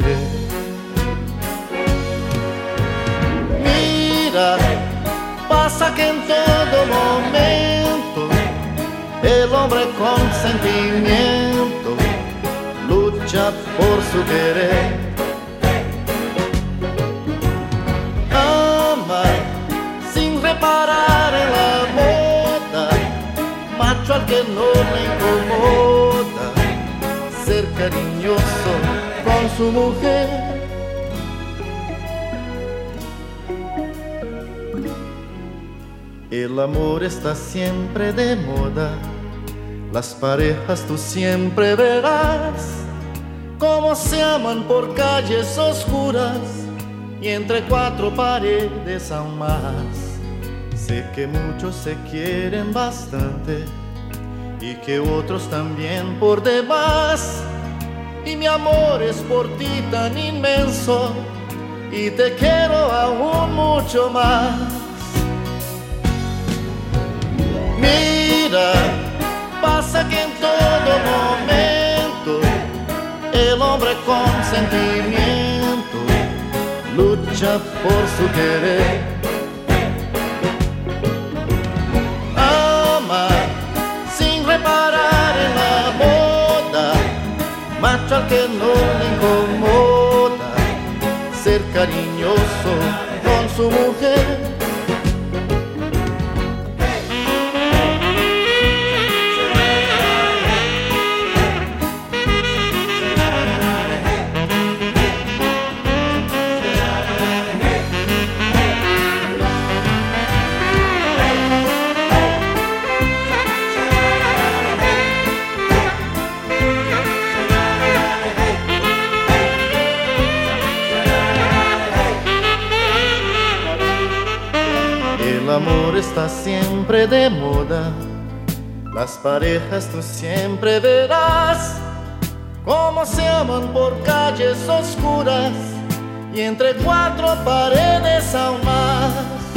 Mira, pasa que en todo momento el hombre con sentimiento lucha por su querer. Sin reparar en la moda, macho al que no le incomoda ser cariñoso con su mujer. El amor está siempre de moda, las parejas tú siempre verás cómo se aman por calles oscuras y entre cuatro paredes aún más. Sé que muchos se quieren bastante y que otros también por demás. Y mi amor es por ti tan inmenso y te quiero aún mucho más. Mira, pasa que en todo momento el hombre con sentimiento lucha por su querer. Ama sin reparar en la moda, macho al que no le incomoda ser cariñoso con su mujer. El amor está siempre de moda, las parejas tú siempre verás cómo se aman por calles oscuras y entre cuatro paredes aún más.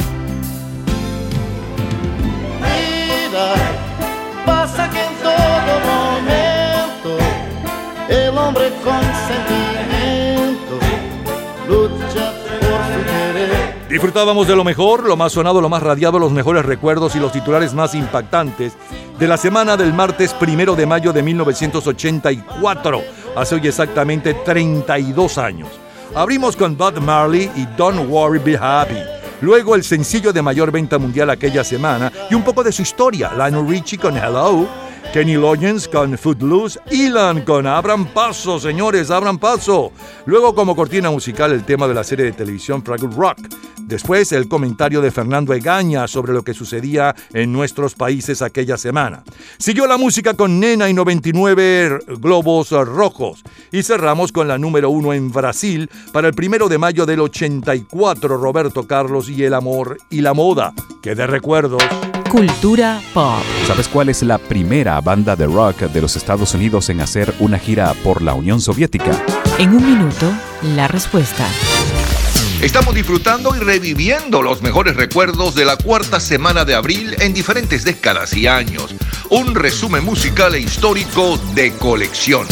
Mira, pasa que en todo momento el hombre con sentimiento lucha por su querer. Disfrutábamos de lo mejor, lo más sonado, lo más radiado, los mejores recuerdos y los titulares más impactantes de la semana del martes 1 de mayo de 1984, hace hoy exactamente 32 años. Abrimos con Bob Marley y Don't Worry, Be Happy. Luego el sencillo de mayor venta mundial aquella semana y un poco de su historia, Lionel Richie con Hello, Kenny Loggins con Footloose, Ilan con Abran Paso, señores, abran paso. Luego como cortina musical el tema de la serie de televisión Fraggle Rock. Después el comentario de Fernando Egaña sobre lo que sucedía en nuestros países aquella semana. Siguió la música con Nena y 99 Globos Rojos. Y cerramos con la número 1 en Brasil para el 1 de mayo del 84, Roberto Carlos y El amor y la moda. ¡Qué de recuerdos! Cultura pop. ¿Sabes cuál es la primera banda de rock de los Estados Unidos en hacer una gira por la Unión Soviética? En un minuto, la respuesta. Estamos disfrutando y reviviendo los mejores recuerdos de la cuarta semana de abril en diferentes décadas y años. Un resumen musical e histórico de colección.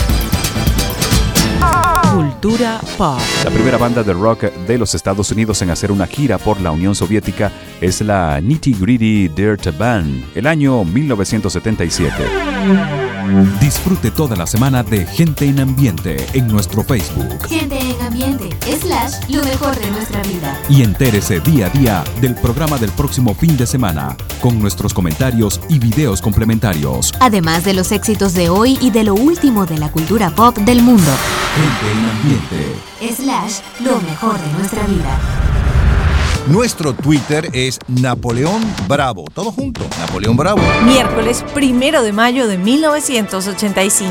Cultura pop. La primera banda de rock de los Estados Unidos en hacer una gira por la Unión Soviética es la Nitty Gritty Dirt Band, el año 1977. Disfrute toda la semana de Gente en Ambiente en nuestro Facebook. Gente en Ambiente / lo mejor de nuestra vida. Y entérese día a día del programa del próximo fin de semana, con nuestros comentarios y videos complementarios. Además de los éxitos de hoy y de lo último de la cultura pop del mundo. Gente en Ambiente / lo mejor de nuestra vida. Nuestro Twitter es Napoleón Bravo. Todo junto, Napoleón Bravo. Miércoles 1 de mayo de 1985.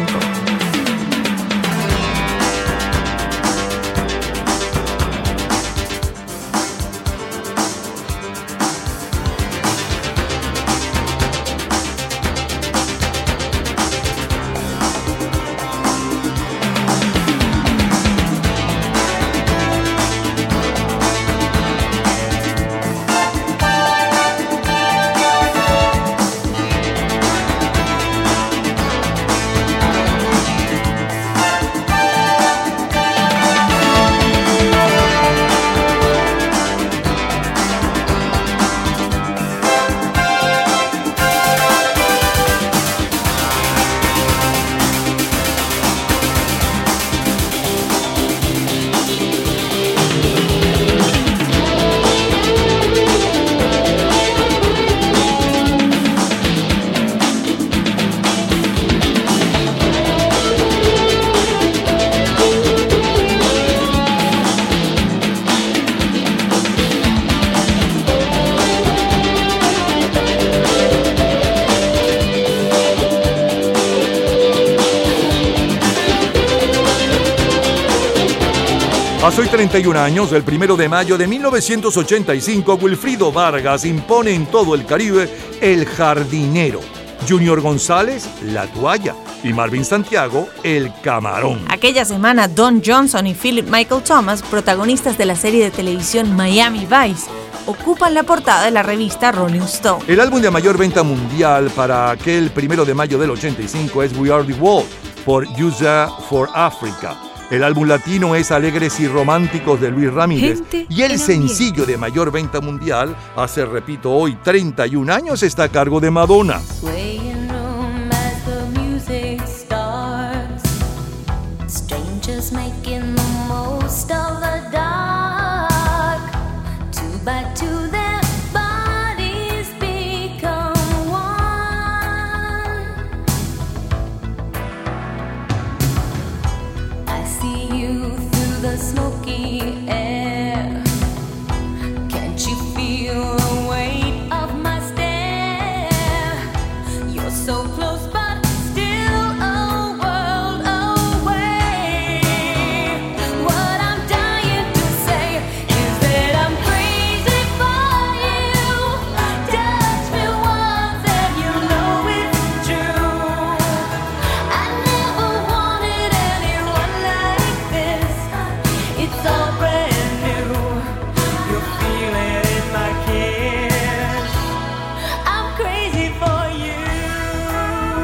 Hace hoy 31 años, el 1 de mayo de 1985, Wilfrido Vargas impone en todo el Caribe El Jardinero, Junior González, La Toalla y Marvin Santiago, El Camarón. Aquella semana, Don Johnson y Philip Michael Thomas, protagonistas de la serie de televisión Miami Vice, ocupan la portada de la revista Rolling Stone. El álbum de mayor venta mundial para aquel 1 de mayo del 85 es We Are the World, por USA for Africa. El álbum latino es Alegres y Románticos de Luis Ramírez. Y el sencillo de mayor venta mundial, hace, repito, hoy 31 años, está a cargo de Madonna. Smoky air. Can't you feel the weight of my stare? You're so close but still a world away. What I'm dying to say is that I'm crazy for you. Touch me once and you know it's true. I never wanted anyone like this. It's all brand new. You're feeling in my kiss. I'm crazy for you.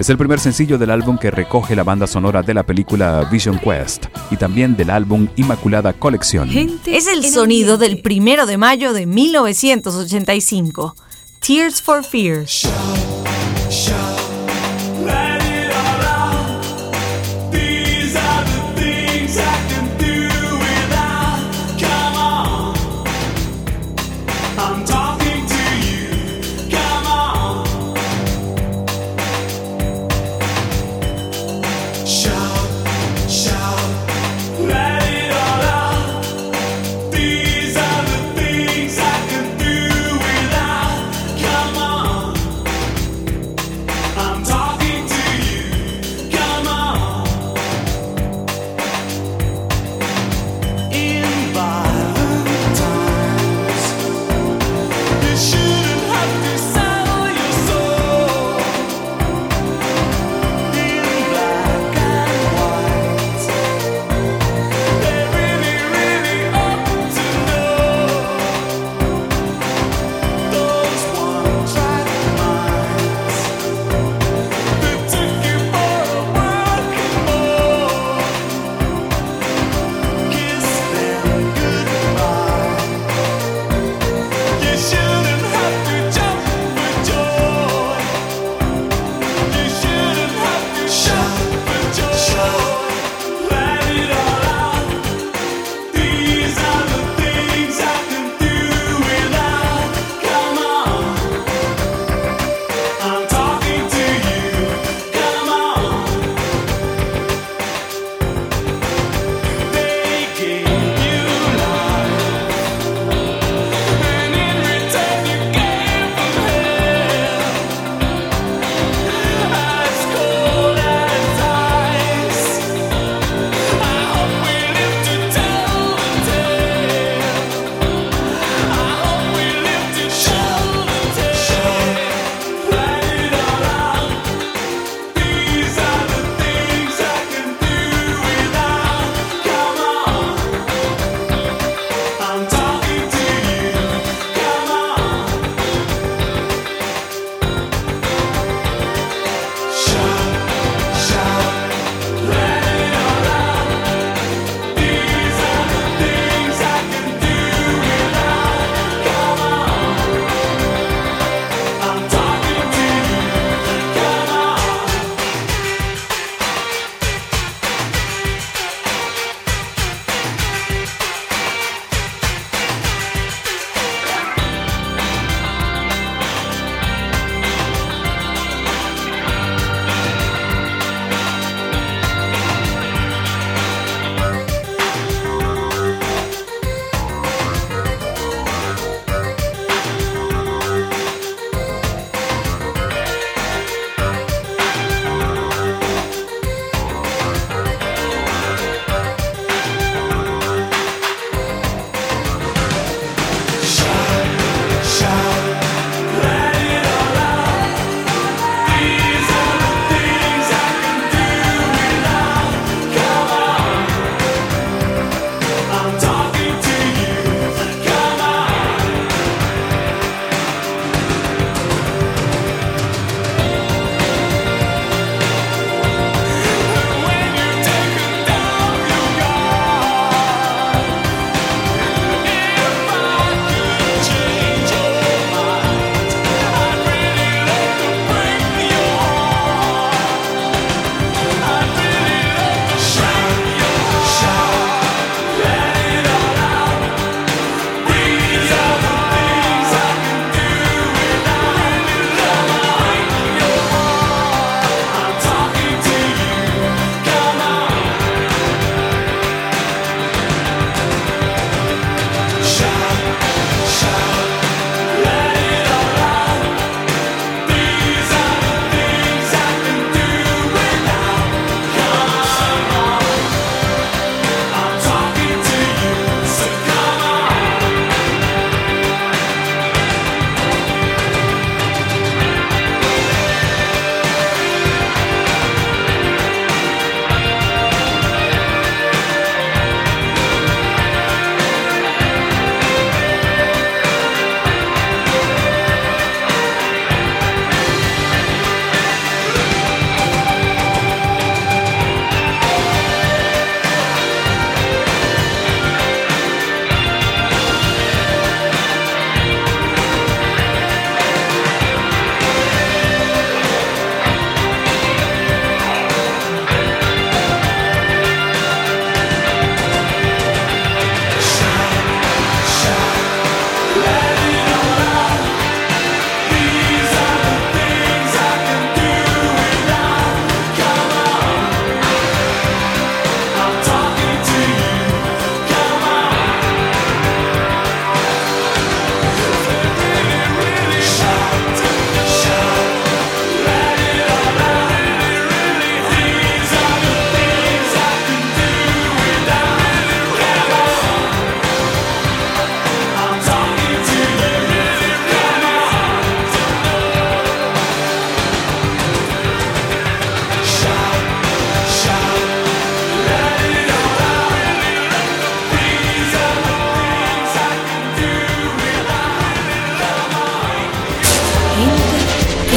Es el primer sencillo del álbum que recoge la banda sonora de la película Vision Quest y también del álbum Inmaculada Colección. Es el sonido del 1 de mayo de 1985. Tears for Fears.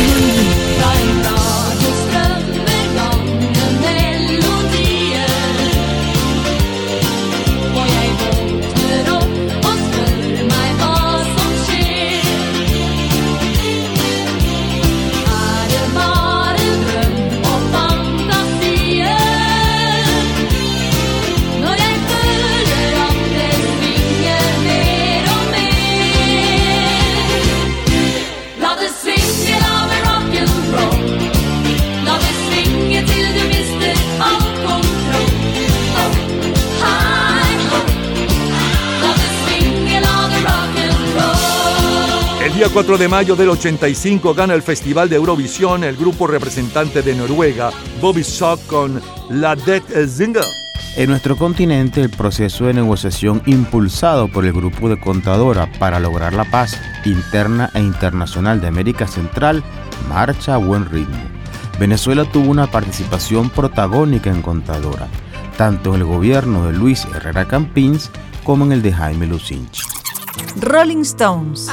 El día 4 de mayo del 85 gana el Festival de Eurovisión el grupo representante de Noruega, Bobby Sock, con La Det Zinger. En nuestro continente, el proceso de negociación impulsado por el Grupo de Contadora para lograr la paz interna e internacional de América Central marcha a buen ritmo. Venezuela tuvo una participación protagónica en Contadora, tanto en el gobierno de Luis Herrera Campins como en el de Jaime Lucinchi. Rolling Stones.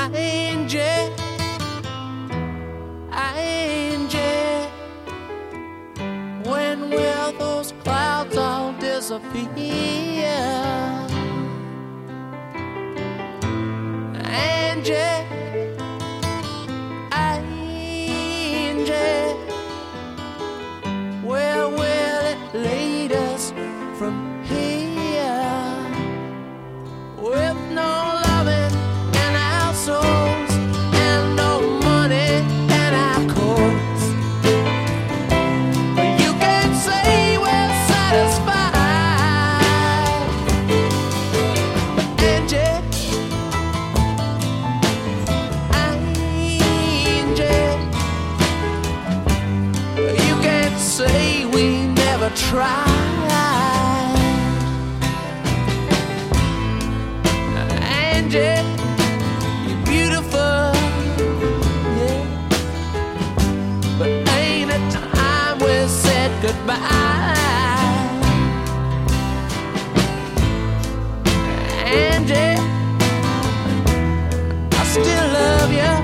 When will those clouds all disappear? Angie, Angie, where will it lead us from here? With no loving in our souls and no money in our coats. You can say we're satisfied, Angie, Angie. You can say we never tried. Angie, you're beautiful, yeah, but ain't it time we said goodbye? Angie, I still love you.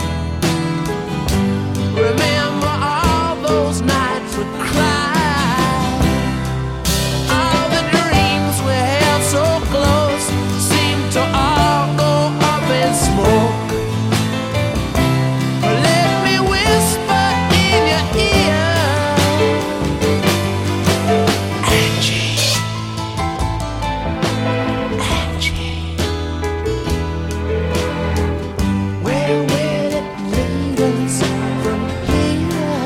Remember all those nights we cried, all the dreams we held so close seemed to all go up in smoke. Let me whisper in your ear, Angie, Angie, where will it lead us from here?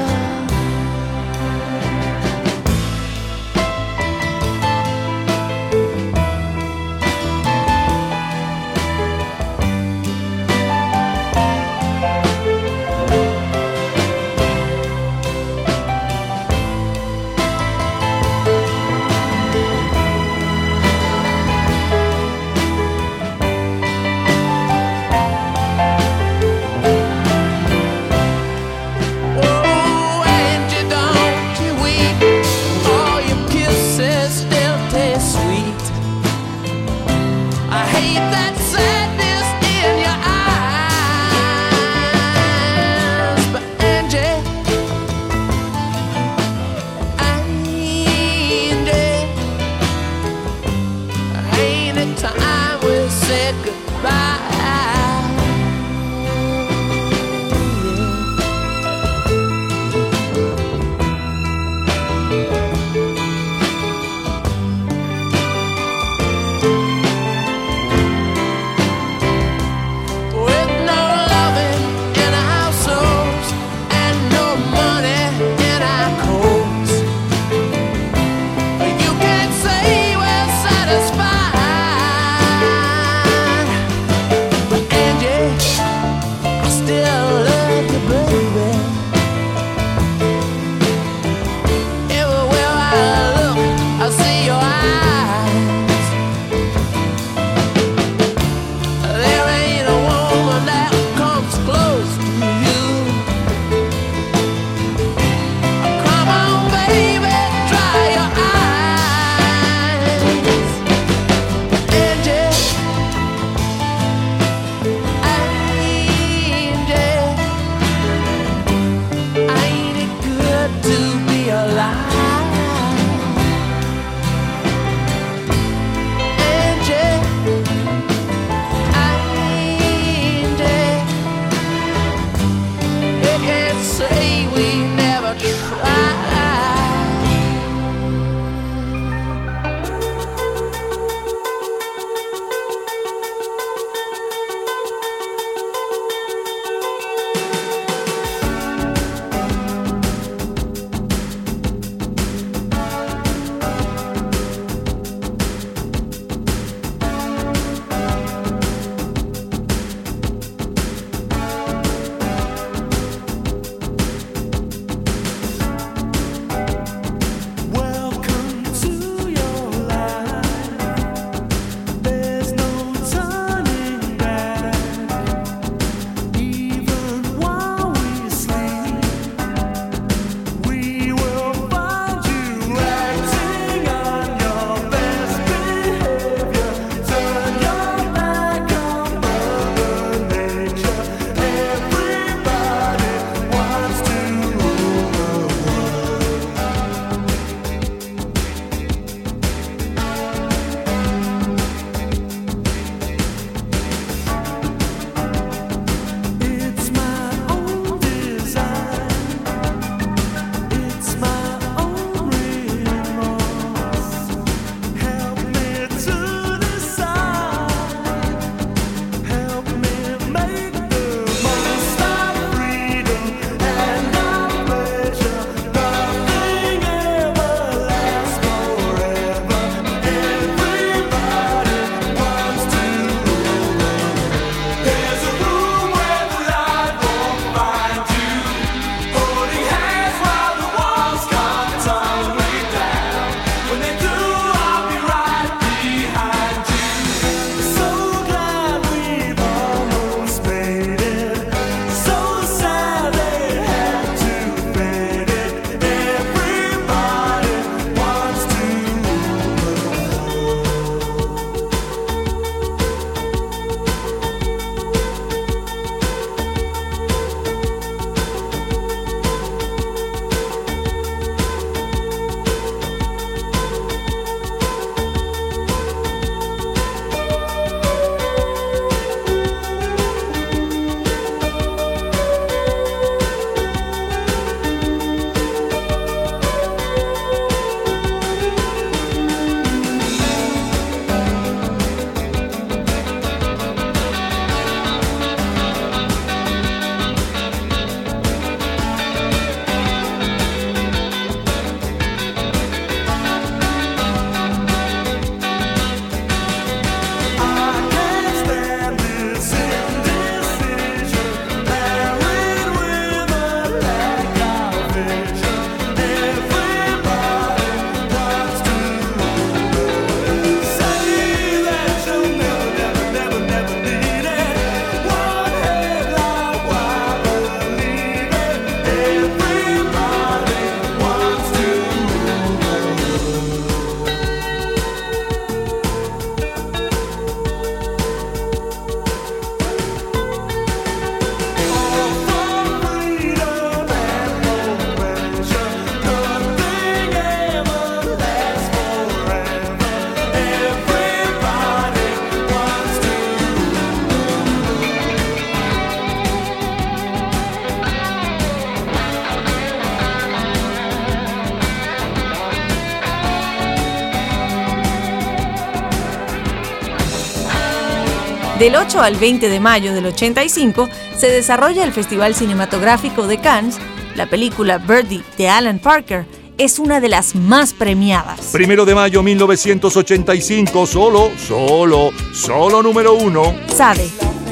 Del 8 al 20 de mayo del 85 se desarrolla el Festival Cinematográfico de Cannes. La película Birdie de Alan Parker es una de las más premiadas. 1 de mayo 1985, solo número 1. Sade.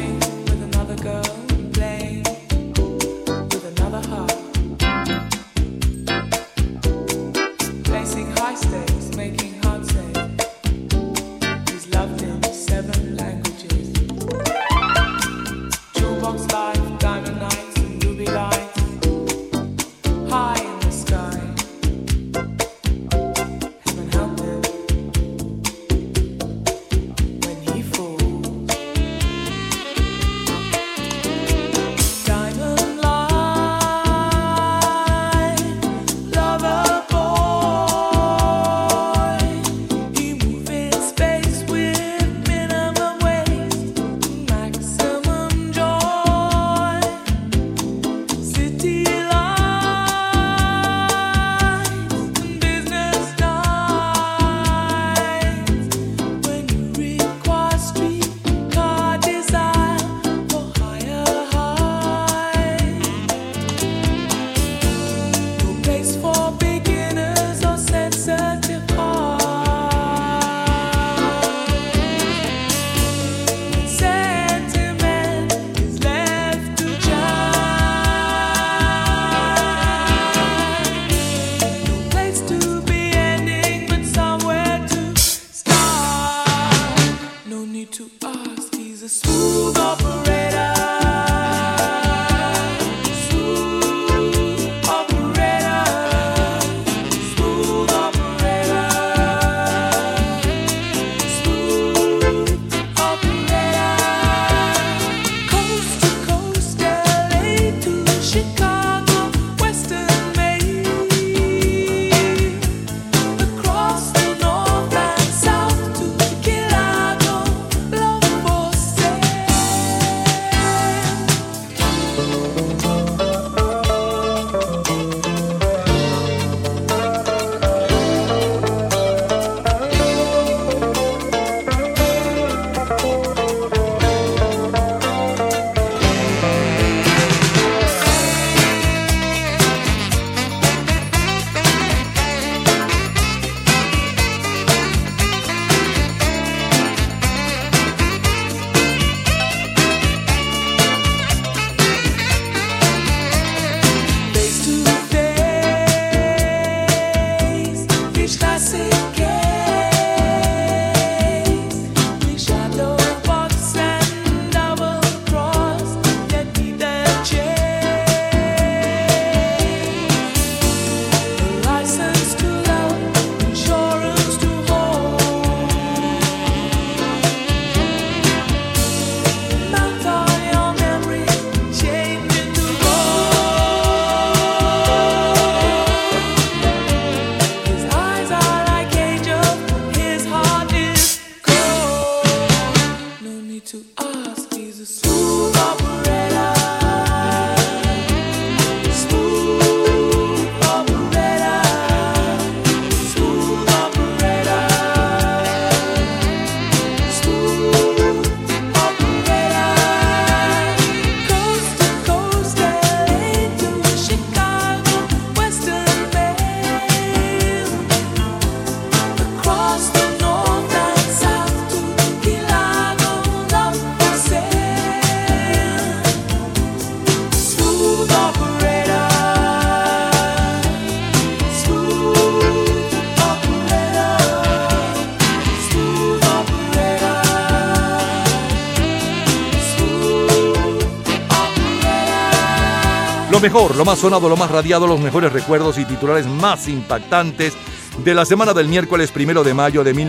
Lo mejor, lo más sonado, lo más radiado, los mejores recuerdos y titulares más impactantes de la semana del miércoles 1 de mayo de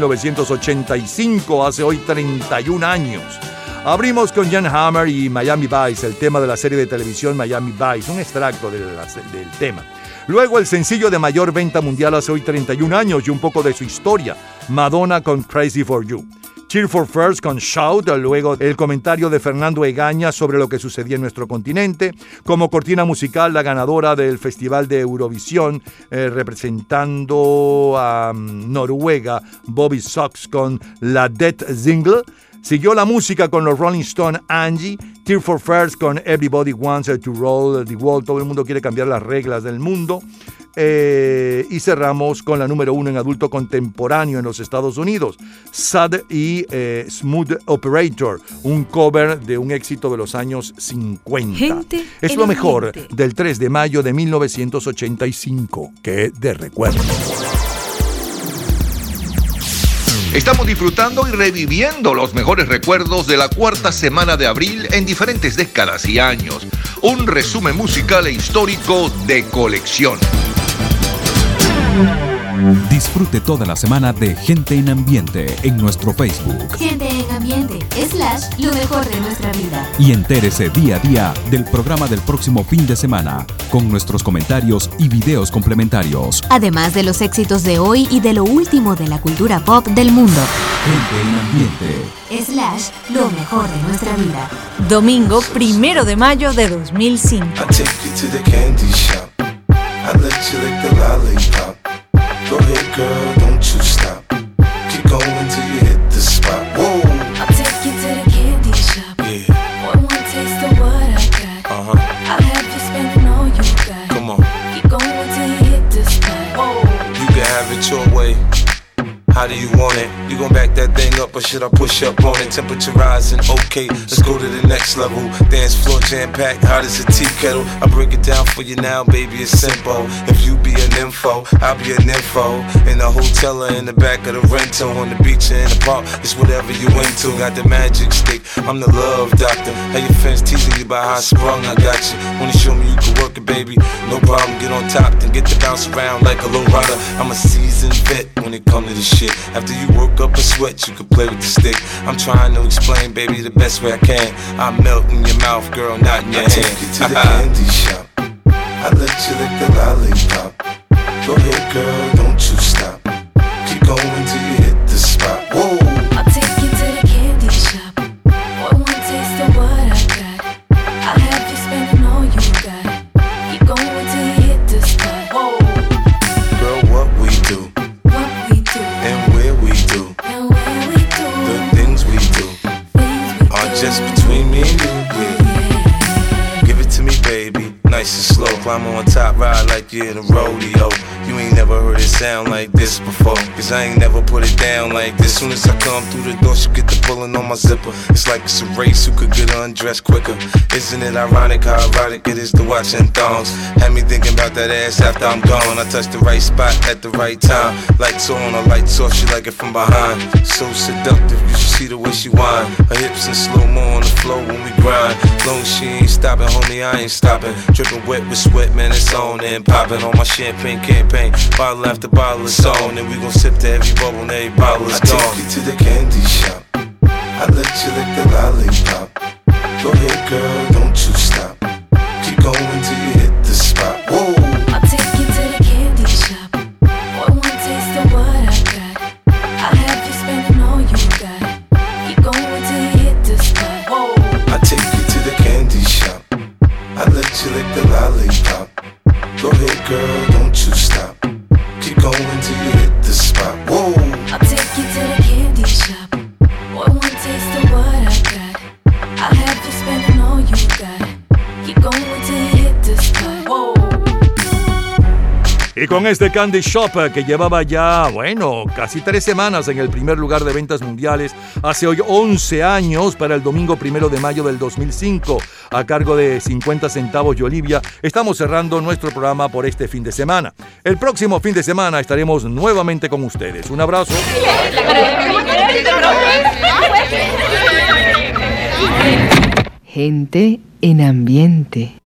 1985, hace hoy 31 años. Abrimos con Jan Hammer y Miami Vice, el tema de la serie de televisión Miami Vice, un extracto del tema. Luego el sencillo de mayor venta mundial hace hoy 31 años y un poco de su historia, Madonna con Crazy for You. Cheer for Fears con Shout, luego el comentario de Fernando Egaña sobre lo que sucedía en nuestro continente. Como cortina musical, la ganadora del Festival de Eurovisión, representando a Noruega, Bobby Sox con La Det Single. Siguió la música con los Rolling Stones, Angie, Tear for Fears con Everybody Wants to Roll the World, todo el mundo quiere cambiar las reglas del mundo. Y cerramos con la número 1 en adulto contemporáneo en los Estados Unidos, Sad y Smooth Operator, un cover de un éxito de los años 50. Es lo mejor del 3 de mayo de 1985, que de recuerdo. Estamos disfrutando y reviviendo los mejores recuerdos de la cuarta semana de abril en diferentes décadas y años. Un resumen musical e histórico de colección. Disfrute toda la semana de Gente en Ambiente en nuestro Facebook. Gente en Ambiente / lo mejor de nuestra vida. Y entérese día a día del programa del próximo fin de semana, con nuestros comentarios y videos complementarios. Además de los éxitos de hoy y de lo último de la cultura pop del mundo. Gente en Ambiente / lo mejor de nuestra vida. Domingo 1 de mayo de 2005. I let you lick the lollipop. Go ahead, girl, don't you stop. Keep going till you hit the spot. Whoa. I'll take you to the candy shop. Yeah. One taste of what I got. I'll have you spending all you got. Come on. Keep going till you hit the spot. Whoa. You can have it your way. How do you want it? You gon' back that thing up or should I push up on it? Temperature rising, okay, let's go to the next level. Dance floor jam-packed, hot as a tea kettle. I break it down for you now, baby, it's simple. If you be an info, I'll be an info. In the hotel or in the back of the rental, on the beach or in the park, it's whatever you into. Got the magic stick, I'm the love doctor. How your fans teasing you about how I sprung, I got you. Wanna show me you can work it, baby? No problem, get on top, then get to bounce around like a low rider. I'm a seasoned vet when it comes to this shit. After you work up a sweat, you can play with the stick. I'm trying to explain, baby, the best way I can. I melt in your mouth, girl, not in your hand. I take you to the candy shop. I let you lick the lollipop. Go ahead, girl, don't you stop. Keep going till you hit the spot. Whoa. I'll take you to the candy shop. One taste of what I got. I'll have you spending all you got. Keep going till you hit the spot. Whoa. Girl, what we do. And where we do. The things we do are just between me and you, yeah. Give it to me, baby, nice and slow. Climb on top, ride like you're in a rodeo. You ain't never heard it sound like this before, cause I ain't never put it down like this. Soon as I come through the door, she get the pulling on my zipper. It's like it's a race, who could get undressed quicker. Isn't it ironic how erotic it is to watching thongs? Had me thinking about that ass after I'm gone. I touched the right spot at the right time. Lights on, her lights off, she like it from behind. So seductive, you should see the way she whine. Her hips in slow-mo on the floor when we grind. Long as she ain't stopping, homie, I ain't stopping. Dripping wet with sweat, man, it's on and popping on my champagne campaign. Bottle after bottle is on, and we gon' sip to every bubble and every bottle is gone. I take you to the candy shop. I let you lick the lollipop. Go ahead, girl, don't you stop. Keep going till you hit the spot. Whoa. I'll take you to the candy shop. One taste of what I got. I'll have you spending all you got. Keep going till you hit the spot. Whoa. I take you to the candy shop. I let you lick the lollipop. Go ahead, girl, don't you stop. Keep going till you hit the spot. Whoa. I'll take you to the candy shop. One taste of what I got. I'll have you spending all you got. Keep going till you hit the spot. Whoa. Y con este Candy Shop que llevaba ya, bueno, casi 3 semanas en el primer lugar de ventas mundiales, hace hoy 11 años, para el domingo 1 de mayo del 2005, a cargo de 50 centavos y Olivia, estamos cerrando nuestro programa por este fin de semana. El próximo fin de semana estaremos nuevamente con ustedes. Un abrazo. Gente en Ambiente.